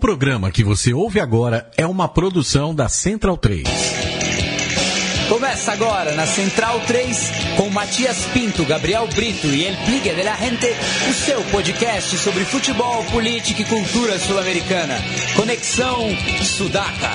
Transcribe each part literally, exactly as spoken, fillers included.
programa que você ouve agora é uma produção da Central três. Começa agora na Central três com Matias Pinto, Gabriel Brito e El Pligue de la Gente, o seu podcast sobre futebol, política e cultura sul-americana. Conexão Sudaca.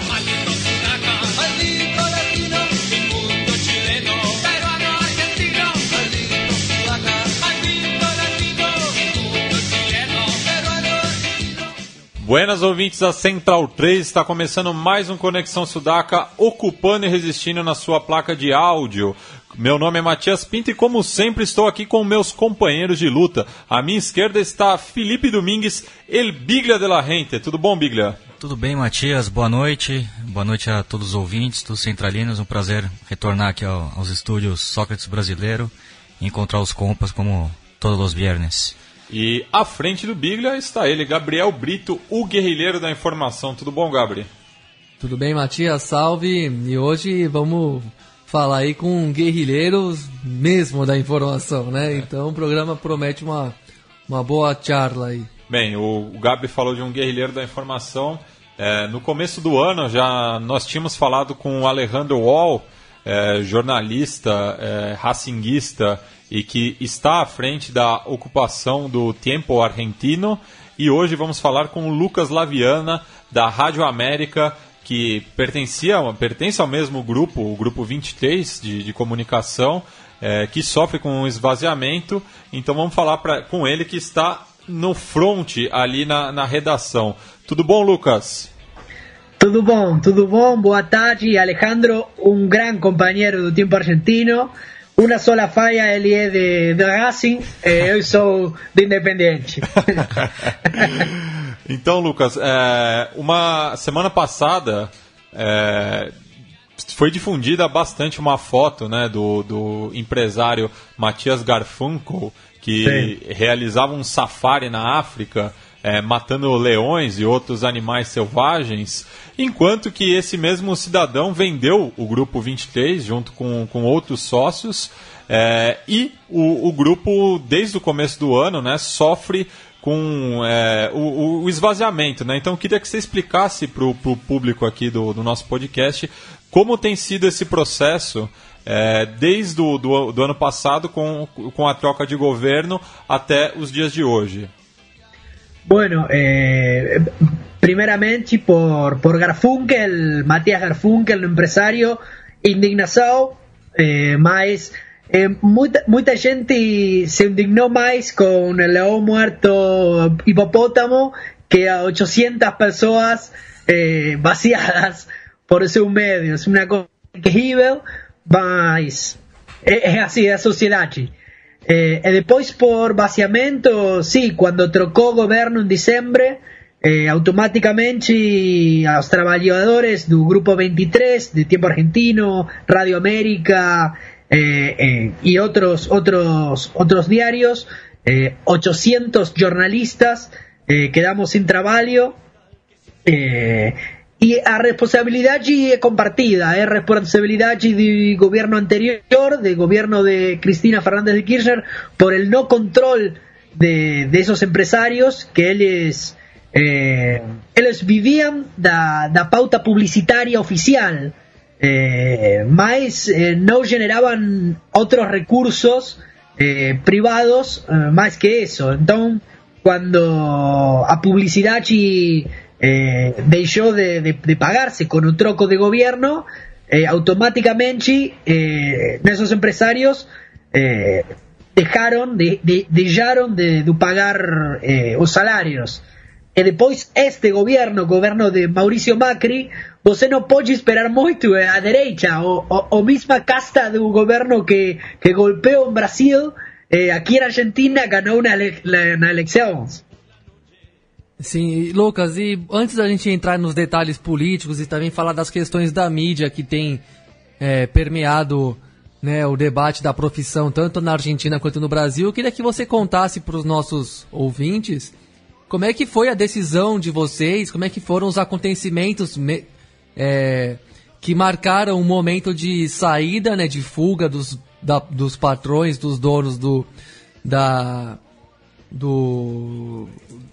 Buenas ouvintes da Central três, está começando mais um Conexão Sudaca, ocupando e resistindo na sua placa de áudio. Meu nome é Matias Pinto e, como sempre, estou aqui com meus companheiros de luta. À minha esquerda está Felipe Domingues, El Biglia de la Gente. Tudo bom, Biglia? Tudo bem, Matias. Boa noite. Boa noite a todos os ouvintes, todos os centralinos. Um prazer retornar aqui ao, aos estúdios Sócrates Brasileiro e encontrar os compas como todos os viernes. E à frente do Biglia está ele, Gabriel Brito, o guerrilheiro da informação. Tudo bom, Gabri? Tudo bem, Matias? Salve! E hoje vamos falar aí com guerrilheiros mesmo da informação, né? É. Então o programa promete uma, uma boa charla aí. Bem, o, o Gabi falou de um guerrilheiro da informação. É, no começo do ano já nós tínhamos falado com o Alejandro Wall, é, jornalista, é, racinguista, e que está à frente da ocupação do Tiempo Argentino. E hoje vamos falar com o Lucas Laviana, da Rádio América, que pertencia, pertence ao mesmo grupo, o Grupo vinte e três de, de comunicação, é, que sofre com um esvaziamento. Então vamos falar pra, com ele, que está no front ali na, na redação. Tudo bom, Lucas? Tudo bom, tudo bom. Boa tarde, Alejandro, um grande companheiro do Tiempo Argentino. Una sola falla, ele é de, de Racing, eh, eu sou de Independiente. Então, Lucas, é, uma semana passada é, foi difundida bastante uma foto, né, do, do empresário Matias Garfunkel, que Sim. realizava um safari na África, é, matando leões e outros animais selvagens, enquanto que esse mesmo cidadão vendeu o Grupo vinte e três junto com, com outros sócios, é, e o, o grupo, desde o começo do ano, né, sofre com é, o, o esvaziamento. Né? Então eu queria que você explicasse para o público aqui do, do nosso podcast como tem sido esse processo é, desde o do, do ano passado com, com a troca de governo até os dias de hoje. Bueno, eh, primeramente por, por Garfunkel, Matías Garfunkel, el empresario, indignação, eh, mas eh, muita, muita gente se indignó más con el león muerto hipopótamo que a ochocientas pessoas eh, vaciadas por seus medios. Uma coisa terrível, mas é, é assim, é a sociedade. Eh, e depois por vaciamento, sí, quando trocou governo em dezembro, eh, automaticamente os trabalhadores do Grupo vinte e três, de Tiempo Argentino, Radio América eh, eh, e outros, outros, outros diários, eh, oitocentos jornalistas eh, quedamos sem trabalho. Eh, E a responsabilidade é compartida, é responsabilidade do governo anterior, do governo de Cristina Fernández de Kirchner, por el no control de, de esos empresarios que eles, eh, eles viviam da, da pauta publicitaria oficial, eh, mas eh, não generavam outros recursos eh, privados eh, mais que isso. Então, quando a publicidade Eh, deixó de, de, de pagarse con un troco de gobierno, eh, automáticamente eh, esos empresarios eh, dejaron de, de, dejaron de, de pagar eh, os salarios. E depois este governo, governo de Mauricio Macri, você não pode esperar muito a direita, ou, ou, ou mesma casta do governo que, que golpeou o Brasil, eh, aqui na Argentina ganhou na, ele, na eleições. Sim, Lucas, e antes da gente entrar nos detalhes políticos e também falar das questões da mídia que tem é, permeado, né, o debate da profissão tanto na Argentina quanto no Brasil, eu queria que você contasse para os nossos ouvintes como é que foi a decisão de vocês, como é que foram os acontecimentos me, é, que marcaram o momento de saída, né, de fuga dos, da, dos patrões, dos donos do, da, do,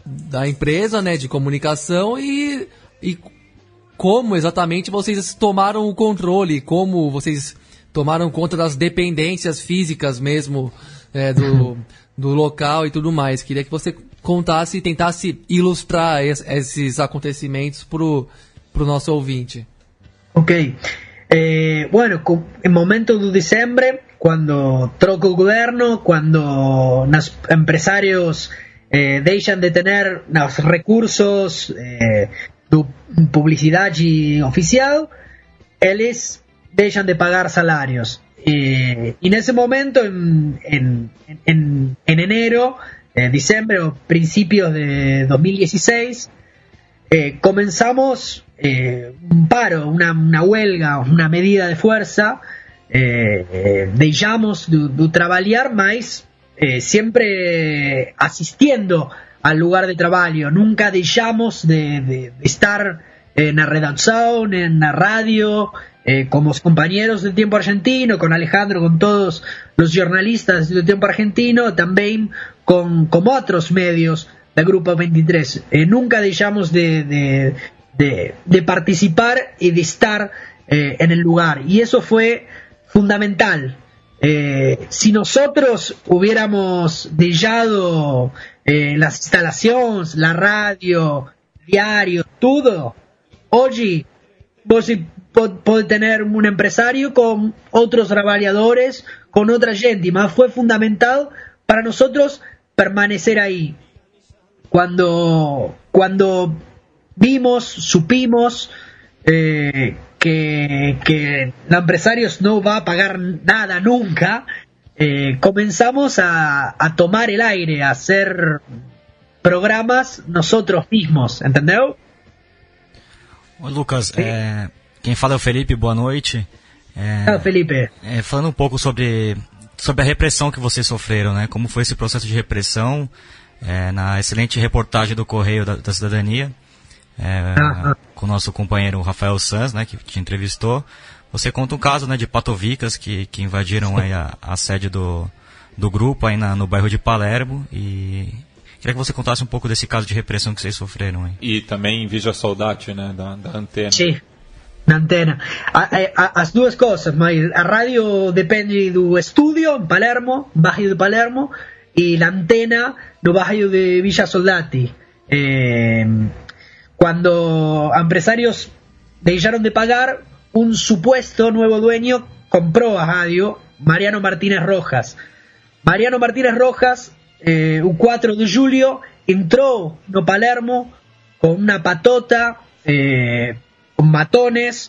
da empresa, né, de comunicação e, e como exatamente vocês tomaram o controle, como vocês tomaram conta das dependências físicas mesmo é, do, do local e tudo mais. Queria que você contasse e tentasse ilustrar es, esses acontecimentos pro, pro nosso ouvinte. Ok. Eh, bueno, en momento de diciembre, cuando troca el gobierno, cuando los empresarios eh, dejan de tener los recursos eh, de publicidad y oficial, ellos dejan de pagar salarios. Eh, y en ese momento, en, en, en, en enero, eh, diciembre o principios de dos mil dieciséis, eh, comenzamos eh, un paro, una, una huelga, una medida de fuerza. Eh, eh, dejamos de, de trabajar más, eh, siempre asistiendo al lugar de trabajo. Nunca dejamos de, de, de estar en la redacción, en la radio, eh, con los compañeros del Tiempo Argentino, con Alejandro, con todos los jornalistas del Tiempo Argentino, también con, con otros medios del Grupo veintitrés. Eh, nunca dejamos de, de, de, de participar y de estar eh, en el lugar. Y eso fue fundamental. Eh, si nosotros hubiéramos dejado eh, las instalaciones, la radio, diario, todo, hoy vos podés tener un empresario con otros trabajadores, con otra gente, y más fue fundamental para nosotros permanecer ahí. Cuando, cuando vimos, supimos eh, que, que los empresarios no va a pagar nada nunca, eh, comenzamos a, a tomar el aire, a hacer programas nosotros mismos, ¿entendeu? Ô Lucas, é, quem fala é o Felipe, boa noite. É, ah, Felipe. É, falando um pouco sobre, sobre a repressão que vocês sofreram, né? Como foi esse processo de repressão, é, na excelente reportagem do Correio da, da Cidadania, é, ah, com o nosso companheiro Rafael Sanz, né, que te entrevistou. Você conta um caso, né, de patovicas que, que invadiram aí a, a sede do, do grupo aí na, no bairro de Palermo, e queria que você contasse um pouco desse caso de repressão que vocês sofreram aí. E também Villa Soldati, né, da, da Antena. Sim, na Antena. A, a, as duas coisas, mas a rádio depende do estúdio em Palermo, bairro de Palermo, e a Antena no bairro de Villa Soldati. Eh, cuando empresarios dejaron de pagar, un supuesto nuevo dueño compró a radio, Mariano Martínez Rojas. Mariano Martínez Rojas, eh, el cuatro de julio, entró no Palermo con una patota, eh, con matones,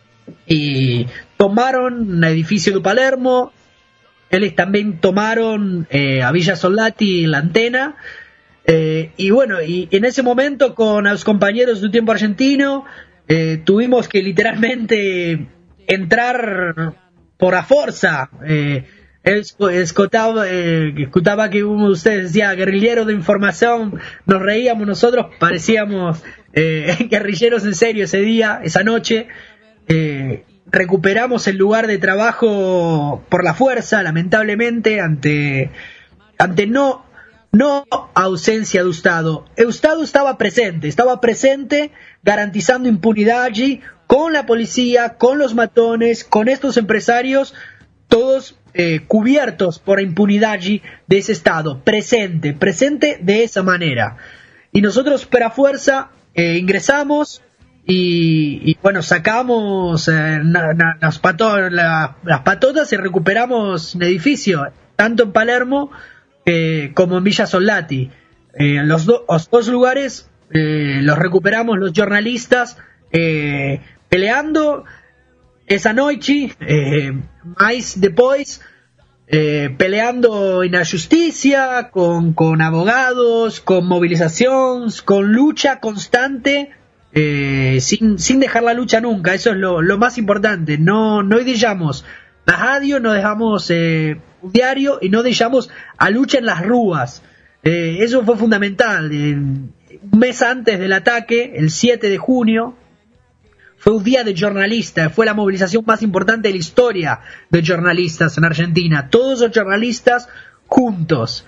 y tomaron el edificio de Palermo. Ellos también tomaron eh, a Villa Soldati, la Antena. Eh, y bueno, y en ese momento con los compañeros del Tiempo Argentino eh, tuvimos que literalmente entrar por la fuerza. Eh, escutaba, eh, escutaba que uno de ustedes decía guerrillero de información, nos reíamos nosotros, parecíamos eh, guerrilleros en serio ese día, esa noche. Eh, recuperamos el lugar de trabajo por la fuerza, lamentablemente, ante, ante no... No ausencia de Estado. El Estado estaba presente, estaba presente garantizando impunidad allí, con la policía, con los matones, con estos empresarios, todos eh, cubiertos por la impunidad allí de ese Estado, presente, presente de esa manera. Y nosotros, per a fuerza, eh, ingresamos y, y, bueno, sacamos eh, na, na, las, pato, la, las patotas y recuperamos el edificio, tanto en Palermo Eh, como en Villa Soldati. Eh, los, do, los dos lugares eh, los recuperamos los jornalistas eh, peleando esa noche, eh, más después eh, peleando en la justicia, con, con abogados, con movilizaciones, con lucha constante, eh, sin, sin dejar la lucha nunca. Eso es lo, lo más importante. No, no dejamos la radio, no dejamos eh, un diario y no dejamos a lucha en las ruas. Eh, eso fue fundamental. Eh, un mes antes del ataque, el siete de junio, fue un día de jornalistas, fue la movilización más importante de la historia de jornalistas en Argentina. Todos los jornalistas juntos.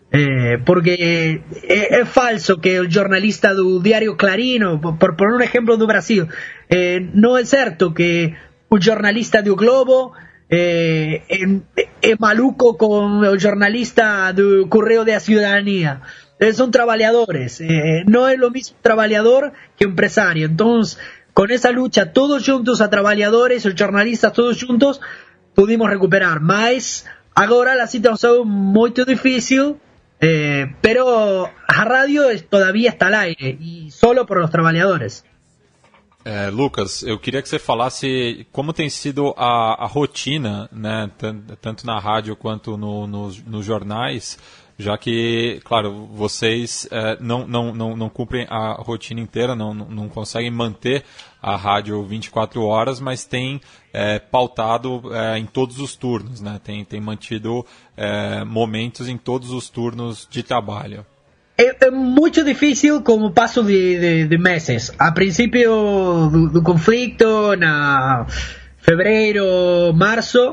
Eh, porque é, é falso que o jornalista do Diário Clarim, por, por um exemplo do Brasil, eh, não é certo que o jornalista do Globo eh, é, é maluco com o jornalista do Correio da Cidadania. Eh, são trabalhadores, eh, não é o mesmo trabalhador que o empresário. Então, com essa luta, todos juntos, a trabalhadores, os jornalistas, todos juntos, pudimos recuperar. Mas agora a situação é muito difícil. Eh, pero a radio todavía está al aire y solo por los trabajadores. É, Lucas, eu queria que você falasse como tem sido a, a rotina, né, tanto na rádio quanto no, nos, nos jornais, já que, claro, vocês é, não, não, não, não cumprem a rotina inteira, não, não conseguem manter a rádio vinte e quatro horas, mas tem é, pautado é, em todos os turnos, né? Tem, tem mantido é, momentos em todos os turnos de trabalho. É, é muito difícil com o passo de, de, de meses. A princípio do, do conflito, na fevereiro, março,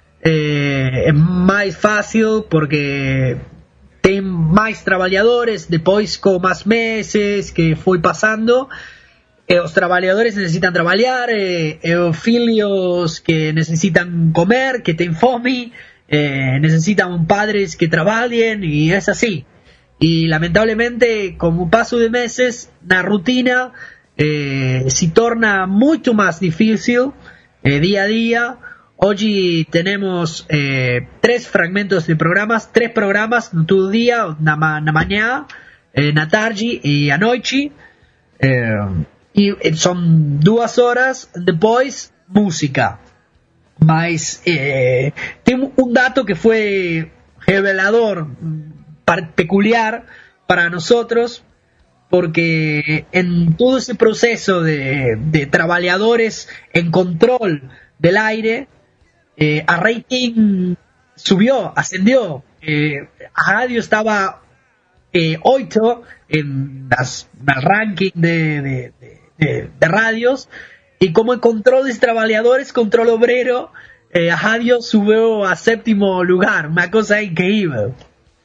é, é mais fácil porque tem mais trabalhadores. Depois, com mais meses que foi passando, eh, os trabalhadores necessitam trabalhar, eh, eh, os filhos que necessitam comer, que têm fome, eh, necessitam padres que trabalhem, e é assim. E, lamentavelmente, com o passo de meses, na rotina eh, se torna muito mais difícil, eh, dia a dia. Hoje temos eh, três fragmentos de programas, três programas no todo dia, na, na manhã, eh, na tarde e à noite. Eh, e são duas horas, depois música. Mas eh, tem um dado que foi revelador, peculiar para nosotros, porque en todo ese proceso de, de trabajadores en control del aire, eh, a rating subió, ascendió. Eh, a radio estaba eh, ocho en las, el ranking de, de, de, de radios, y como el control de trabajadores, control obrero, eh, a radio subió a séptimo lugar, una cosa increíble.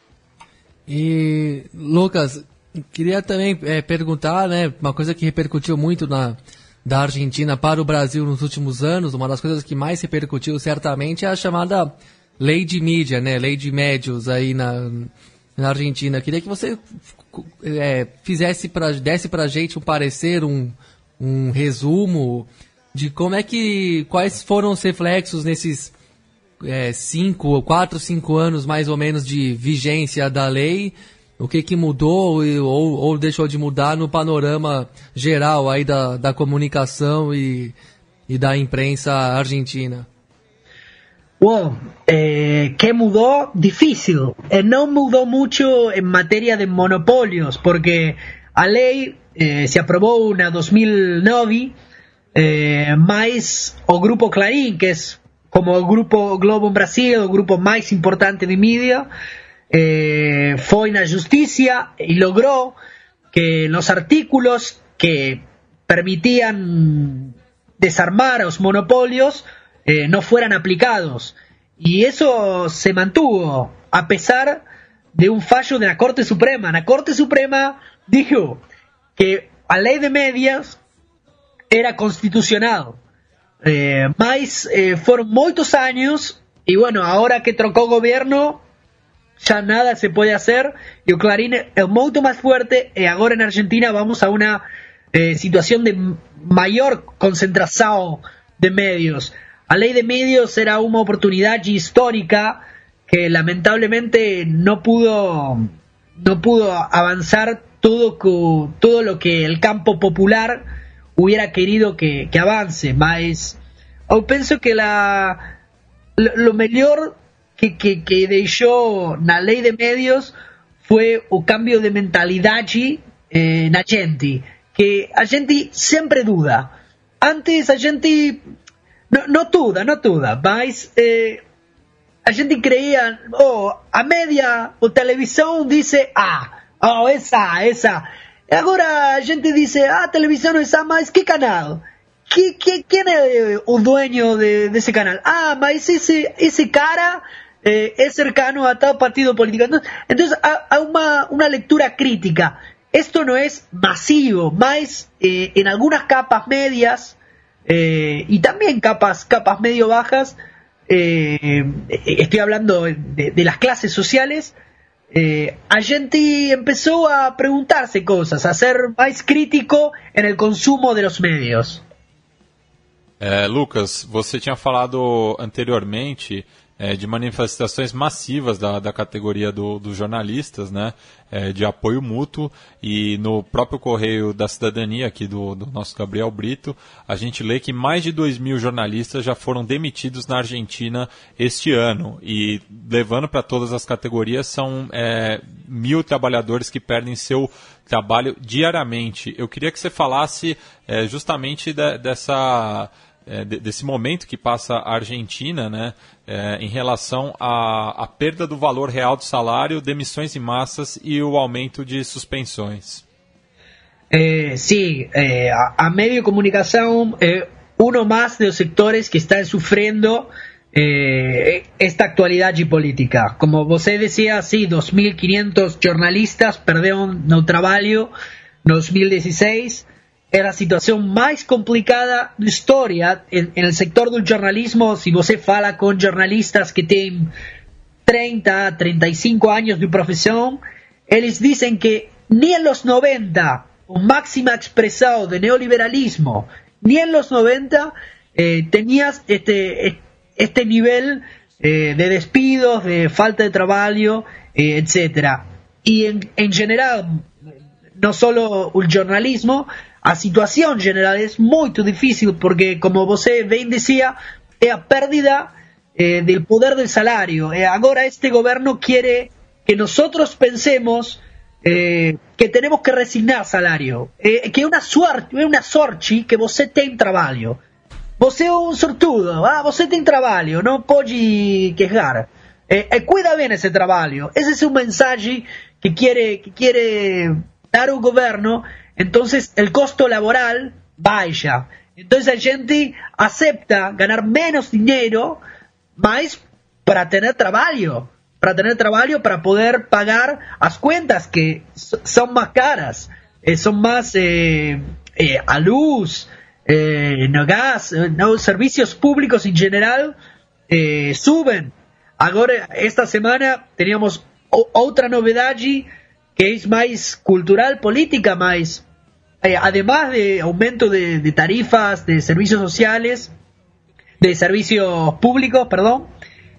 E, Lucas, queria também é, perguntar, né, uma coisa que repercutiu muito na, da Argentina para o Brasil nos últimos anos, uma das coisas que mais repercutiu certamente é a chamada lei de mídia, né, lei de médios aí na, na Argentina. Queria que você é, fizesse pra, desse pra gente um parecer, um, um resumo de como é que, quais foram os reflexos nesses É, cinco, quatro, cinco anos mais ou menos de vigência da lei, o que que mudou ou, ou deixou de mudar no panorama geral aí da, da comunicação e, e da imprensa argentina? Wow, eh, ¿qué mudó? Difícil. Eh, no mudó mucho en materia de monopolios, porque a ley eh, se aprobó en dos mil nueve, eh, más o Grupo Clarín, que es como o Grupo Globo em Brasil, o grupo mais importante de mídia, eh, foi na justiça e logrou que los artículos que permitían desarmar os monopolios eh, no fueran aplicados. Y eso se mantuvo a pesar de un fallo de la Corte Suprema. La Corte Suprema dijo que a ley de medias era constitucional. Eh, mas eh, fueron muchos años y bueno, ahora que trocó gobierno ya nada se puede hacer y o Clarín es mucho más fuerte y ahora en Argentina vamos a una eh, situación de mayor concentración de medios. A ley de medios era una oportunidad histórica que lamentablemente no pudo no pudo avanzar todo, todo lo que el campo popular hubiera querido que, que avance, mas eu penso que la, lo, lo mejor que, que, que deixou na lei de medios foi o cambio de mentalidade eh, na gente, que a gente sempre duda. Antes a gente no, no duda, no duda, mas eh, a gente creía, oh, a media o televisão dice ah, oh, esa, esa. Agora a gente diz, ah, a televisão não é mais que canal? Que, que, quem é o dueño de, desse canal? Ah, mas esse, esse cara eh, es cercano a tal partido político. Entonces, entonces hay una, una lectura crítica. Esto no es masivo, más eh, en algunas capas medias eh, y también capas, capas medio bajas, eh, estoy hablando de, de las clases sociales, eh, a gente empezó a preguntarse cosas, a ser más crítico en el consumo de los medios. É, Lucas, você tinha falado anteriormente é, de manifestações massivas da, da categoria do, dos jornalistas, né, é, de apoio mútuo, e no próprio Correio da Cidadania, aqui do, do nosso Gabriel Brito, a gente lê que mais de dois mil jornalistas já foram demitidos na Argentina este ano, e levando para todas as categorias, são é, mil trabalhadores que perdem seu trabalho diariamente. Eu queria que você falasse é, justamente de, dessa... É, desse momento que passa a Argentina, né, é, em relação à, à perda do valor real do salário, demissões em massas e o aumento de suspensões. Eh, sí, eh, a, a medio de comunicación, eh, uno más de los sectores que están sufriendo eh, esta actualidad política. Como você decía, sí, dos mil quinientos jornalistas perdieron no trabajo en dos mil dieciséis. Es la situación más complicada de historia en, en el sector del jornalismo. Si você fala con jornalistas que tienen treinta, treinta y cinco años de profesión, ellos dicen que ni en los noventa, un máxima expresado de neoliberalismo, ni en los noventa eh, tenías este, este nivel eh, de despidos, de falta de trabajo, eh, etcétera. Y en, en general, no solo el jornalismo, a situación general es muy difícil porque, como você bien decía, es a pérdida eh, del poder del salario. Eh, ahora este gobierno quiere que nosotros pensemos eh, que tenemos que resignar salario, eh, que es una suerte, es una sorte que você tem trabalho. Você é un sortudo, ah, você tem trabalho, no pode quejar. Eh, eh, cuida bien ese trabajo. Ese es un mensaje que quiere, que quiere dar un gobierno. Entonces el costo laboral baja. Entonces la gente acepta ganar menos dinero, más para tener trabajo, para tener trabajo, para poder pagar las cuentas que son más caras, eh, son más eh, eh, a luz, eh, no gas, no, servicios públicos en general eh, suben. Ahora esta semana teníamos o, otra novedad que es más cultural, política, más Eh, además de aumento de, de tarifas, de servicios sociales, de servicios públicos, perdón,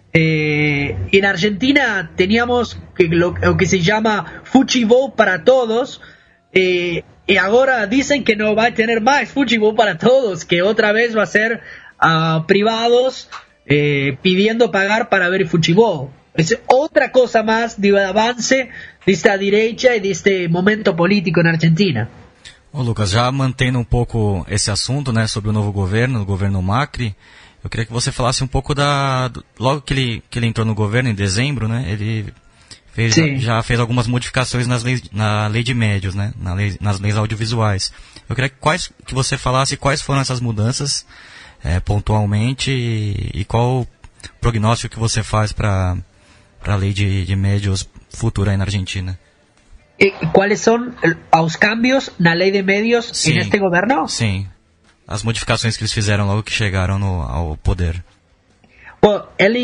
eh, en Argentina teníamos que, lo, lo que se llama Fuchibol para todos, eh, y ahora dicen que no va a tener más Fuchibol para todos, que otra vez va a ser a privados eh, pidiendo pagar para ver Fuchibol. Es otra cosa más de avance de esta derecha y de este momento político en Argentina. Ô Lucas, já mantendo um pouco esse assunto, né, sobre o novo governo, o governo Macri, eu queria que você falasse um pouco da... Logo que ele, que ele entrou no governo, em dezembro, né, ele fez, já fez algumas modificações nas leis, na lei de médios, né, na lei, nas leis audiovisuais. Eu queria que, quais, que você falasse quais foram essas mudanças, é, pontualmente, e, e qual o prognóstico que você faz para a lei de, de médios futura aí na Argentina. ¿Cuáles son los cambios na lei de medios sim, en este governo? Sim, as modificações que eles fizeram logo que chegaram no, ao poder. Bom,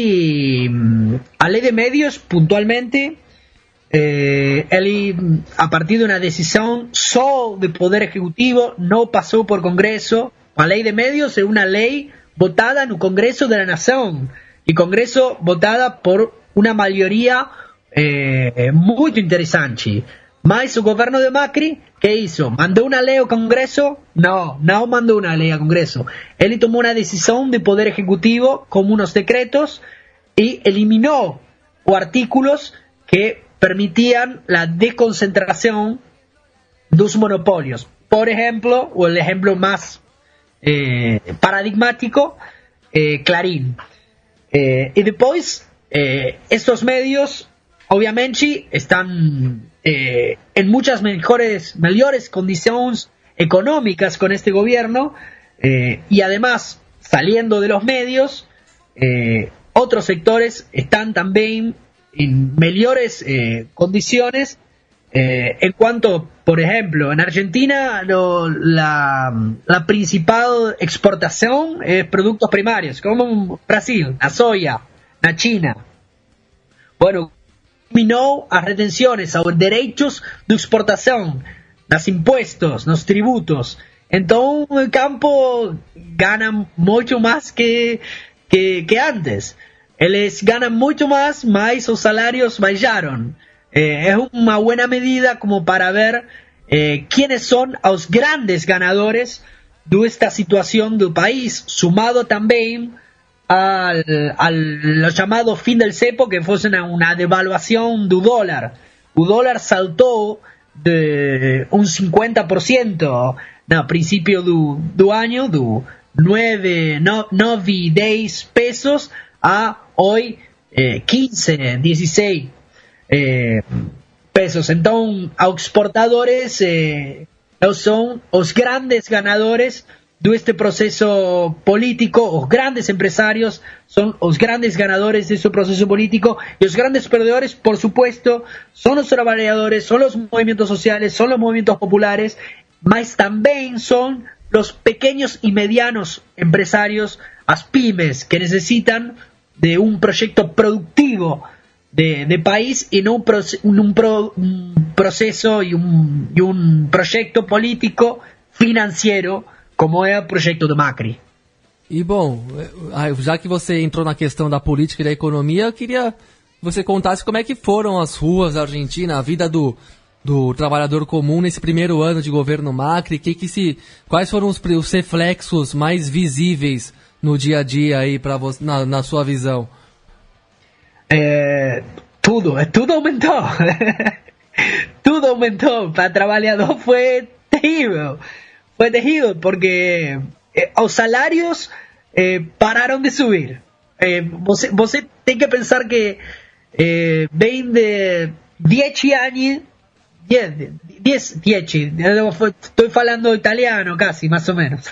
ele, a lei de medios, puntualmente, eh, ele, a partir de una decisión só do Poder Ejecutivo, no pasó por Congreso. A lei de medios es una ley votada no Congreso de la Nación, y Congreso votada por una mayoría eh, muy interesante. Mas o governo de Macri, ¿qué hizo? ¿Mandó una ley al Congreso? No, no mandó una ley al Congreso. Él tomó una decisión de Poder Ejecutivo como unos decretos y eliminó o artículos que permitían la desconcentración de los monopolios. Por ejemplo, o el ejemplo más eh, paradigmático, eh, Clarín. Eh, y después, eh, estos medios, obviamente, están eh, en muchas mejores, mejores condiciones económicas con este gobierno, eh, y además, saliendo de los medios, eh, otros sectores están también en mejores eh, condiciones. Eh, en cuanto, por ejemplo, en Argentina lo, la, la principal exportación es productos primarios, como Brasil, la soya, la China. Bueno, eliminó as retenciones, aos derechos de exportação, los impuestos, los tributos. Entonces el campo gana mucho más que, que, que antes. Eles ganan mucho más, mas los salarios bajaron. Eh, es una buena medida como para ver eh, quiénes son los grandes ganadores de esta situación del país, sumado también al, al lo llamado fin del cepo, que fue una, una devaluación del dólar. El dólar saltó de un cincuenta por ciento a principio del año, de nueve, diez pesos a hoy eh, quince, dieciséis eh, pesos. Entonces, los exportadores eh, son los grandes ganadores de este proceso político. Los grandes empresarios son los grandes ganadores de este proceso político, y los grandes perdedores, por supuesto, son los trabajadores, son los movimientos sociales, son los movimientos populares, mas también son los pequeños y medianos empresarios, las pymes, que necesitan de un proyecto productivo de, de país y no un, proce un, pro un proceso y un, y un proyecto político financiero como é o projeto do Macri. E bom, já que você entrou na questão da política e da economia, eu queria que você contasse como é que foram as ruas da Argentina, a vida do, do trabalhador comum nesse primeiro ano de governo Macri, que que se, quais foram os, os reflexos mais visíveis no dia a dia aí para você, na, na sua visão? É, tudo, tudo aumentou. Tudo aumentou. Para trabalhador foi terrível. Fue terrível porque eh, os salários eh, pararam de subir. Eh, você, você tem que pensar que eh, vem de diez anos, diez, estoy falando italiano casi, más o menos.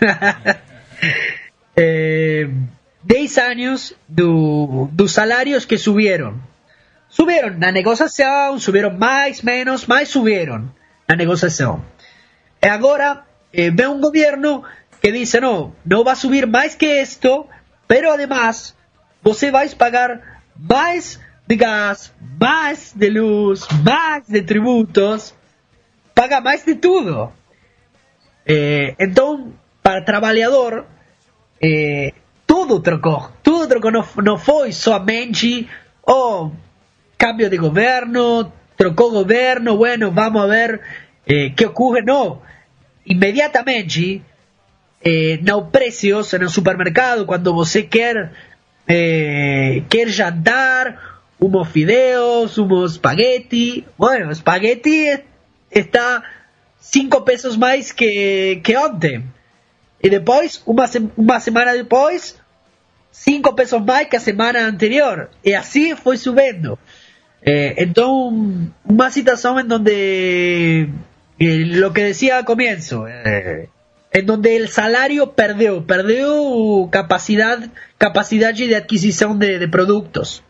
eh, diez años do, dos salarios que subieron. Subieron na negociación, subieron más, menos, más subieron na negociación. E agora Eh, ve un gobierno que dice no, no va a subir más que esto, pero además você vai pagar más de gas, más de luz, más de tributos, paga más de todo. Eh, entonces, para el trabajador, eh, todo trocó, todo trocó, no, no fue solamente oh, cambio de gobierno, trocó gobierno, bueno, vamos a ver eh, qué ocurre, no. Inmediatamente eh, nos precios en el supermercado, cuando você quer eh, quer jantar unos fideos, unos espagueti, bueno, espagueti está cinco pesos más que, que ontem, y después una, una semana después cinco pesos más que la semana anterior, y así fue subiendo. Eh, entonces una situación en donde Eh, lo que decía al comienzo, eh, en donde el salario perdió, perdió capacidad, capacidad de adquisición de, de productos.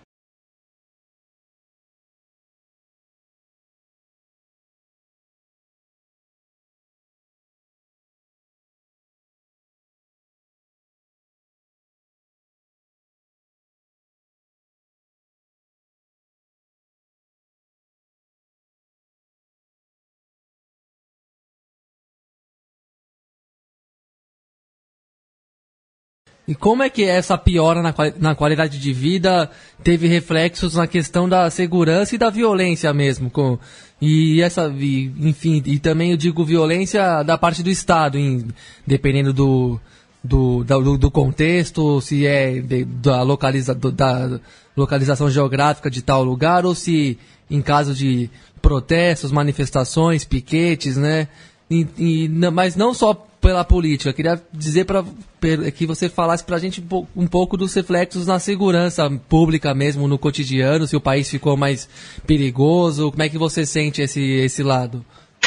E como é que essa piora na, na qualidade de vida teve reflexos na questão da segurança e da violência mesmo? Com, e essa, e, enfim, e também eu digo violência da parte do Estado, em, dependendo do, do, do, do contexto, se é de, da, localiza, da localização geográfica de tal lugar, ou se em caso de protestos, manifestações, piquetes, né? E, e, mas não só pela política. Eu queria dizer para que você falasse para a gente um pouco dos reflexos na segurança pública mesmo, no cotidiano, se o país ficou mais perigoso, como é que você sente esse, esse lado?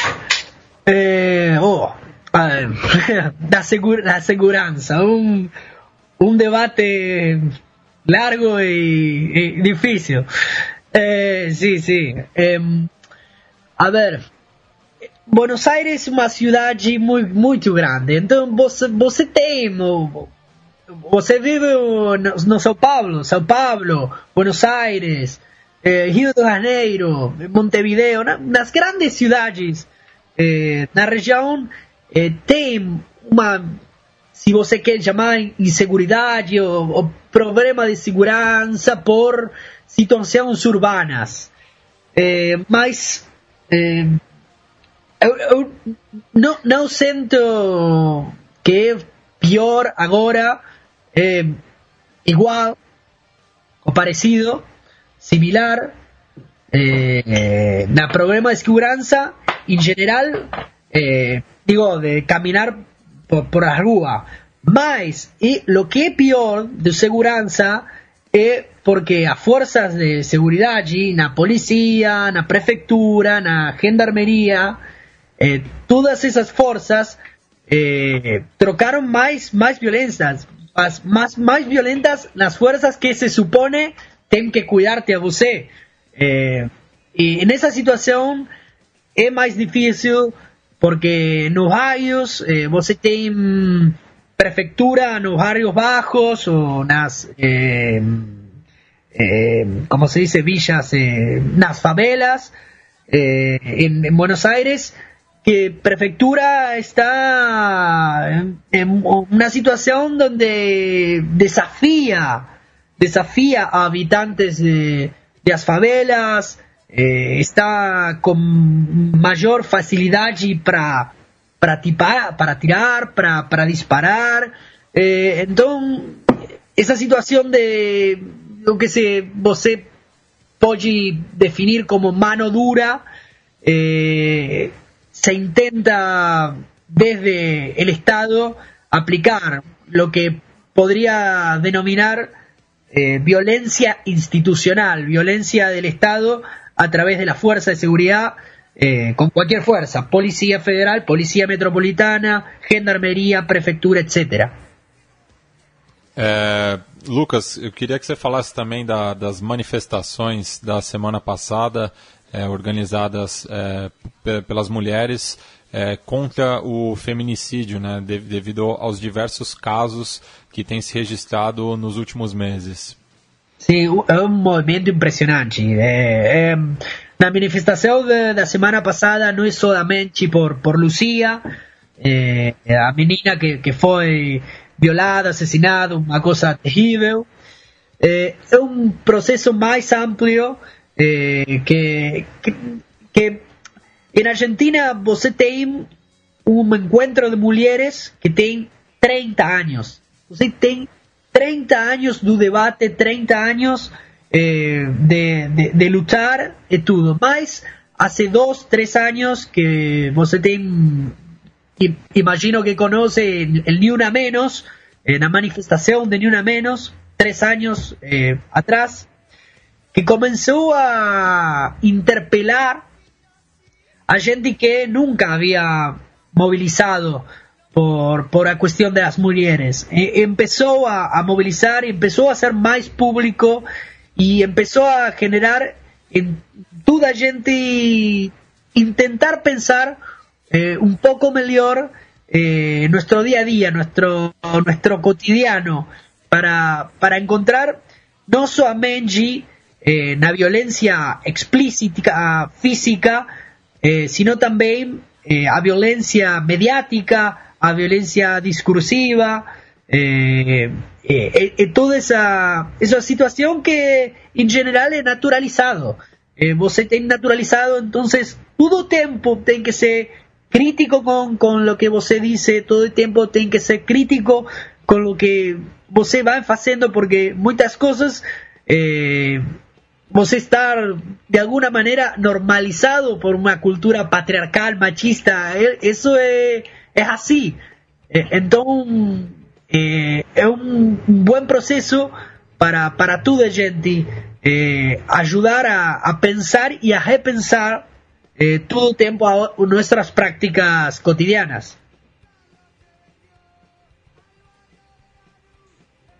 É, oh, da, segura, da segurança, um, um debate largo y, y difícil. Eh, sí, sí. Eh, a ver, Buenos Aires é uma cidade muito, muito grande. Então você, você tem... Você vive no, no São Paulo, São Paulo, Buenos Aires, eh, Rio de Janeiro, Montevideo, na, nas grandes cidades eh, na região eh, tem uma, se você quer chamar, inseguridade ou, ou problema de segurança por situações urbanas. Eh, mas eh, eu, eu não, não sinto que é pior agora, eh, igual o parecido, similar, eh, na problema de segurança em geral, eh, digo, de caminar por, por a rua. Mas, e lo que é pior de segurança é porque as forças de seguridade, na polícia, na prefeitura, na gendarmeria, eh, todas essas forças eh, trocaram mais, mais violentas, as, mais, mais violentas nas forças que se supone tem que cuidar-te a você. Eh, e nessa situação é mais difícil porque nos bairros eh, você tem prefeitura nos bairros bajos ou nas, eh, eh, como se dice, villas, eh, nas favelas, eh, en, en Buenos Aires, que prefectura está en, en una situación donde desafía, desafía a habitantes de, de las favelas, eh, está con mayor facilidad para para tipar, para tirar, para, para disparar. Eh, entonces, esa situación de lo que se você pode definir como mano dura, eh, se intenta desde el Estado aplicar lo que podría denominar eh, violencia institucional, violencia del Estado a través de la fuerza de seguridad, eh, con cualquier fuerza, policía federal, policía metropolitana, gendarmería, prefeitura, etcétera. É, Lucas, eu queria que você falasse também da, das manifestações da semana passada, é, organizadas é, p- pelas mulheres é, contra o feminicídio, né, de, devido aos diversos casos que têm se registrado nos últimos meses. Sim, é um movimento impressionante. É, é, na manifestação de, da semana passada não é somente por, por Lucía, é, a menina que, que foi violada, assassinada, uma coisa terrível. É, é um processo mais amplo é, que, que, que em Argentina você tem um encontro de mulheres que tem trinta anos. Você tem trinta anos do debate, trinta anos eh, de, de, de lutar e tudo. Mas há dois, três anos que você tem, imagino que conhece el Ni Una Menos, eh, na manifestação de Ni Una Menos, três anos eh, atrás, que começou a interpelar a gente que nunca havia movilizado por, por a cuestión de las mujeres. Eh, empezó a, a movilizar, empezó a ser más público y empezó a generar en toda gente intentar pensar eh, un poco mejor eh, nuestro día a día, nuestro, nuestro cotidiano, para, para encontrar no solamente eh, la violencia explícita física, eh, sino también eh, a violencia mediática, a violencia discursiva, eh, eh, eh, toda esa, esa situación que en general es naturalizado. Eh, você tem naturalizado, entonces todo el tiempo tem que ser crítico con, con lo que você dice, todo el tiempo tem que ser crítico con lo que você vai fazendo, porque muchas cosas eh, você estar de alguna manera normalizado por una cultura patriarcal, machista, eso es... Es así. Eh, entonces, eh, es un buen proceso para, para toda gente eh, ayudar a, a pensar y a repensar eh, todo el tiempo a nuestras prácticas cotidianas.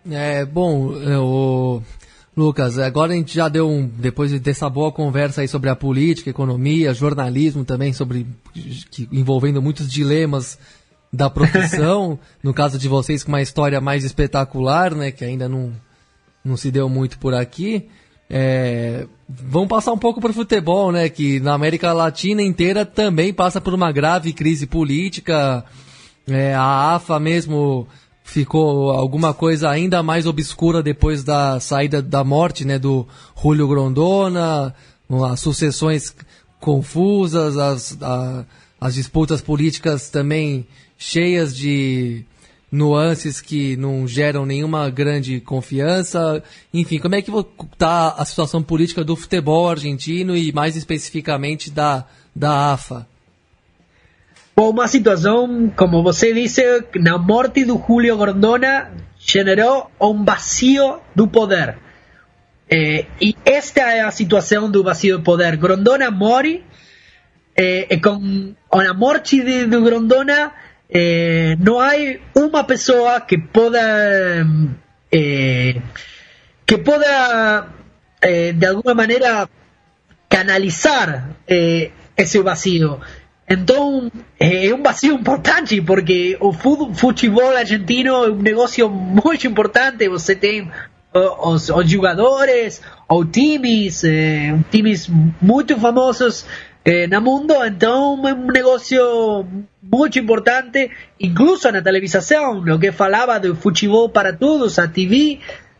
É, bom, o Lucas, agora a gente já deu um, depois dessa boa conversa aí sobre a política, economia, jornalismo também, sobre que, envolvendo muitos dilemas da profissão, no caso de vocês com uma história mais espetacular, né, que ainda não, não se deu muito por aqui. É, vamos passar um pouco para o futebol, né, que na América Latina inteira também passa por uma grave crise política. É, a AFA mesmo ficou alguma coisa ainda mais obscura depois da saída da morte, né, do Julio Grondona, as sucessões confusas, as, a, as disputas políticas também cheias de nuances que não geram nenhuma grande confiança. Enfim, como é que está a situação política do futebol argentino e mais especificamente da, da AFA? Bom, uma situação, como você disse, na morte do Julio Grondona generou um vazio do poder. Eh, e esta é a situação do vazio do poder. Grondona morre, eh, e com, com a morte de, de Grondona, eh, não há uma pessoa que possa, eh, que possa eh, de alguma maneira, canalizar eh, esse vazio. Então, é um vazio importante, porque o futebol argentino é um negócio muito importante. Você tem os, os jogadores, ou times, eh, times muito famosos eh, no mundo. Então, é um negócio muito importante, incluso na televisão, o que falava do futebol para todos, a T V.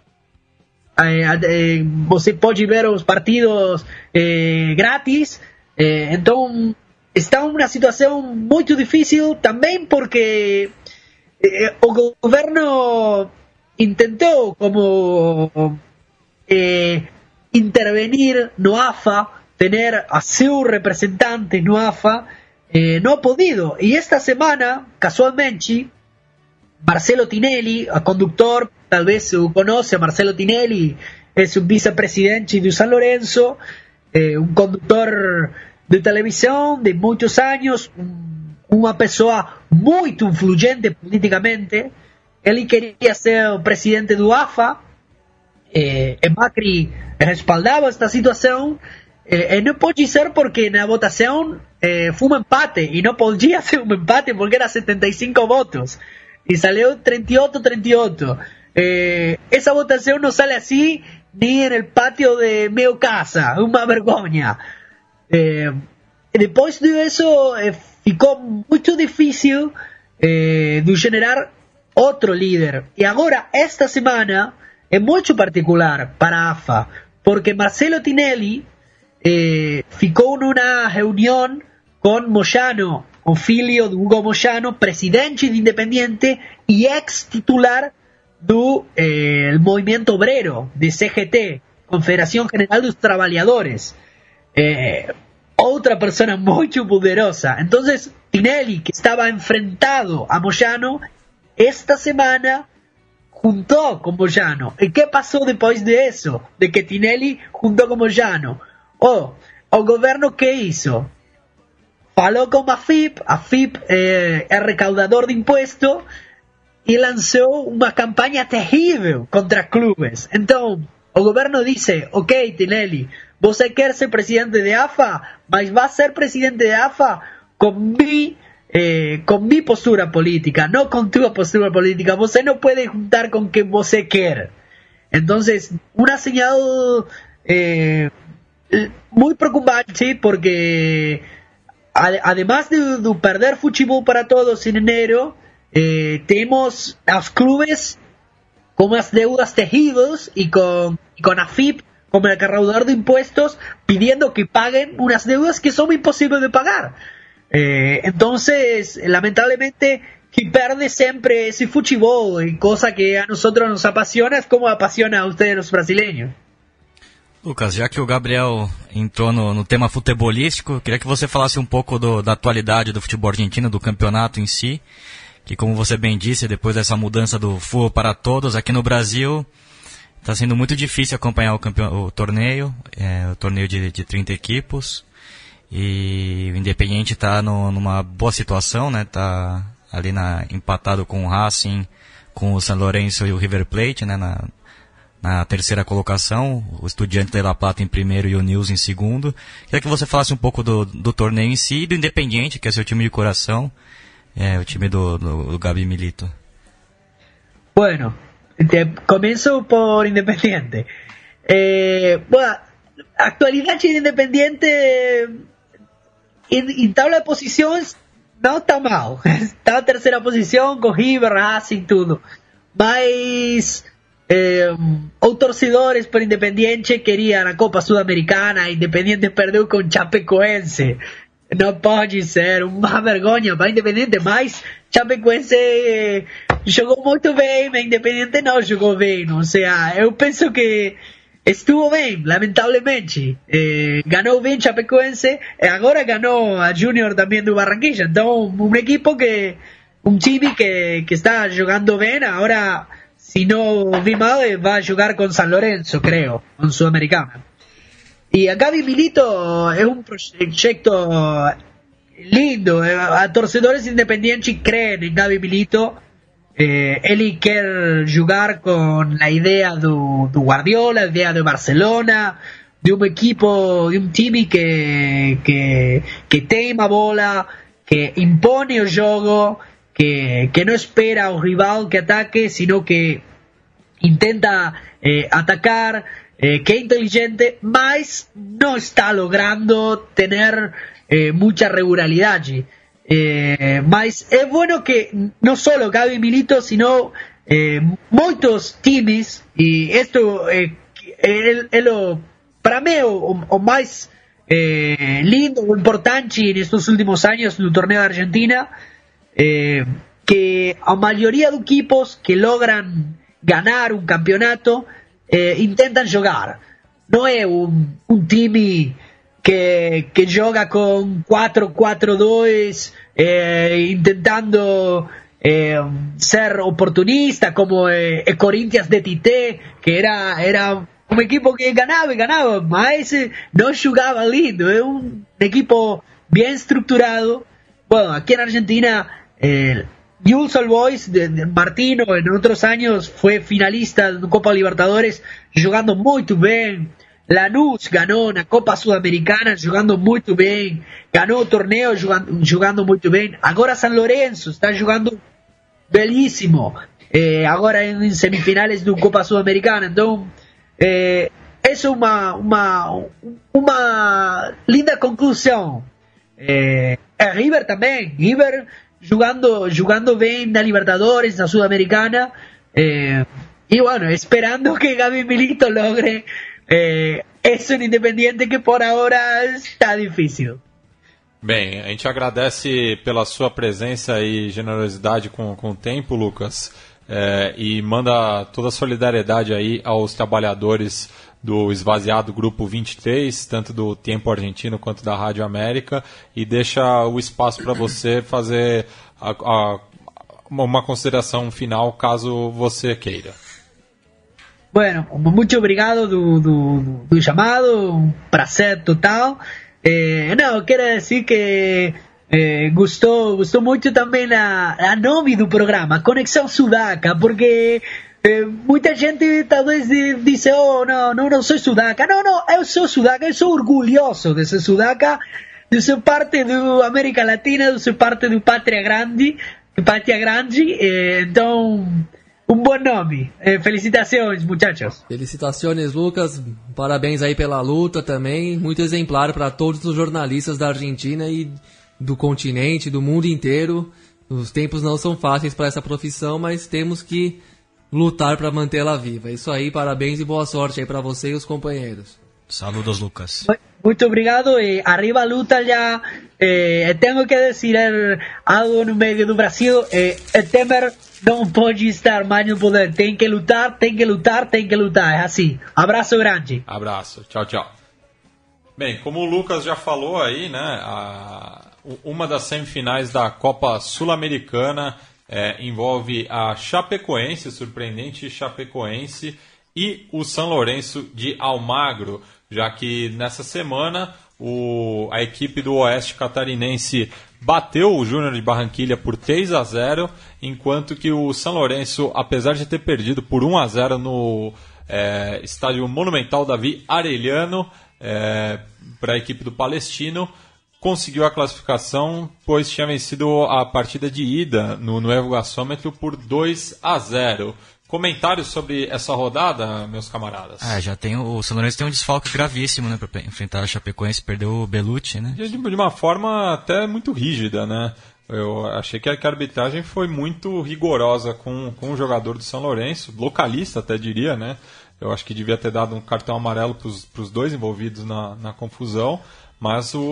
Eh, eh, você pode ver os partidos eh, grátis. Eh, então, está uma situação muito difícil também porque eh, o governo tentou como eh, intervenir no AFA, ter a seu representante no AFA, eh, não ha podido. E esta semana, casualmente, Marcelo Tinelli, o conductor, talvez o conhece, Marcelo Tinelli é um vice-presidente do San Lorenzo, eh, um condutor de televisão de muitos anos, uma pessoa muito influente politicamente. Ele queria ser o presidente do AFA, eh, e Macri respaldava esta situação, eh, e não pode ser porque na votação eh, foi um empate, e não podia ser um empate porque era setenta e cinco votos, e saiu trinta e oito a trinta e oito. Eh, essa votação não sai assim nem no pátio de meu casa, uma vergonha. Eh, depois disso eh, ficou muito difícil eh, de generar outro líder. E agora, esta semana, é muito particular para a AFA, porque Marcelo Tinelli eh, ficou numa reunião com Moyano, o filho de Hugo Moyano, presidente de Independiente e ex-titular do eh, Movimento Obrero, de C G T, Confederação General dos Trabalhadores. Eh, outra pessoa muito poderosa. Então, Tinelli, que estava enfrentado a Moyano, esta semana juntou com Moyano. E que passou depois disso? De que Tinelli juntou com Moyano? Oh, o governo que hizo? Falou com a F I P, a F I P eh, é recaudador de imposto, e lançou uma campanha terrível contra clubes. Então, o governo disse, ok, Tinelli, você quer ser presidente de AFA, mas vai ser presidente de AFA com mi, eh, com mi postura política, não com tua postura política. Você não pode juntar com quem você quer. Então, uma señal eh, muito preocupante, porque además de, de perder futebol para todos em enero, eh, temos os clubes com as deudas terríveis e com, e com a F I P como el recaudador de impuestos pidiendo que paguen unas deudas que son imposibles de pagar. Eh, entonces, lamentablemente, que perde siempre ese fútbol, y cosa que a nosotros nos apasiona, es como apasiona a ustedes los brasileños. Lucas, já que o Gabriel entrou no, no tema futebolístico, queria que você falasse um pouco do, da atualidade do futebol argentino, do campeonato em si, que, como você bem disse, depois dessa mudança do futebol para todos, aqui no Brasil está sendo muito difícil acompanhar o, campeão, o torneio, é, o torneio de, de trinta equipos, e o Independiente está numa boa situação, né? Tá ali na, empatado com o Racing, com o San Lorenzo e o River Plate, né, na, na terceira colocação, o Estudiantes de La Plata em primeiro e o News em segundo. Queria que você falasse um pouco do, do torneio em si e do Independiente, que é seu time de coração, é, o time do, do, do Gabi Milito. Bueno, te, comienzo por Independiente. Eh, bueno, actualidad de Independiente en, en tabla de posiciones no está mal. Está en tercera posición con River, Racing, tudo. Mas eh, os torcedores por Independiente querían a Copa Sudamericana. Independiente perdeu com Chapecoense. Não pode ser, uma vergonha para Independiente, mas Chapecoense eh, jogou muito bem, mas Independiente não jogou bem. Ou seja, eu penso que estuvo bem, lamentavelmente. Eh, ganhou bem Chapecoense, e agora ganhou a Junior também do Barranquilla. Então, um equipo que, um time que, que está jogando bem. Agora, se não vi mal, vai jogar com San Lorenzo, creio, com Sudamericana. Y a Gabi Milito es un proyecto lindo. A torcedores independientes creen en Gabi Milito. Eh, él quiere jugar con la idea de Guardiola, la idea de Barcelona, de un equipo, de un time que, que, que tema bola, que impone el juego, que, que no espera al rival que ataque, sino que intenta eh, atacar. Eh, que es inteligente, mas no está logrando tener eh, mucha regularidad. Eh, mas es bueno que no solo Gabi Milito, sino eh, muchos times, y esto eh, es, es lo, para mí o, o más eh, lindo o importante en estos últimos años en el torneo de Argentina, eh, que a mayoría de equipos que logran ganar un campeonato Eh, intentan jugar. No es un, un time que, que juega con cuatro cuatro dos eh, intentando eh, ser oportunista como eh, el Corinthians de Tite, que era, era un equipo que ganaba y ganaba, mas no jugaba lindo. Es un equipo bien estructurado. Bueno, aquí en Argentina eh, Newell's Old Boys de, de Martino en otros años fue finalista de Copa Libertadores jugando muy bien. Lanús ganó una Copa Sudamericana jugando muy bien. Ganó torneo jugando, jugando muy bien. Ahora San Lorenzo está jugando belísimo. Eh, ahora en semifinales de Copa Sudamericana. Entonces, eh, es una, una, una linda conclusión. Eh, River también. River jugando jugando bien na Libertadores, na Sudamericana, eh, y bueno, esperando que Gabi Milito logre eh, eso en Independiente, que por ahora está difícil. Bem, a gente agradece pela sua presença e generosidade com, com o tempo, Lucas, é, e manda toda a solidariedade aí aos trabalhadores do esvaziado Grupo vinte e três, tanto do Tempo Argentino quanto da Rádio América, e deixa o espaço para você fazer a, a, uma consideração final, caso você queira. Bueno, muito obrigado do, do, do chamado, um prazer total. Eh, não, quero dizer que eh, gostou, gostou muito também a, a nome do programa, Conexão Sudaca, porque Eh, muita gente talvez dice, oh, no, no, no soy sudaca. No, no, eu sou sudaca, eu sou orgulhoso de ser sudaca, de ser parte de América Latina, de ser parte de Pátria Grande, de Pátria Grande, eh, então, um bom nome. Eh, felicitações, muchachos. Felicitações, Lucas, parabéns aí pela luta também, muito exemplar para todos os jornalistas da Argentina e do continente, do mundo inteiro. Os tempos não são fáceis para essa profissão, mas temos que lutar para mantê-la viva. Isso aí, parabéns e boa sorte aí para você e os companheiros. Saludos, Lucas. Muito obrigado. Eh, arriba luta já. Eh, tenho que dizer algo no meio do Brasil. Eh, o Temer não pode estar mais no poder. Tem que lutar, tem que lutar, tem que lutar. É assim. Abraço grande. Abraço. Tchau, tchau. Bem, como o Lucas já falou aí, né, a, uma das semifinais da Copa Sul-Americana É, envolve a Chapecoense, surpreendente Chapecoense, e o San Lorenzo de Almagro, já que nessa semana o, a equipe do Oeste Catarinense bateu o Júnior de Barranquilla por três a zero, enquanto que o São Lourenço, apesar de ter perdido por um a zero no é, estádio Monumental Davi Arellano, é, para a equipe do Palestino, conseguiu a classificação, pois tinha vencido a partida de ida no Nuevo Gasômetro por dois a zero. Comentários sobre essa rodada, meus camaradas? Ah, já tem o, o São Lourenço tem um desfalque gravíssimo, né, para enfrentar a Chapecoense, perdeu o Belucci, né? De, de uma forma até muito rígida, né? Eu achei que a, que a arbitragem foi muito rigorosa com, com o jogador do São Lourenço, localista até diria, né? Eu acho que devia ter dado um cartão amarelo para os dois envolvidos na, na confusão, mas o,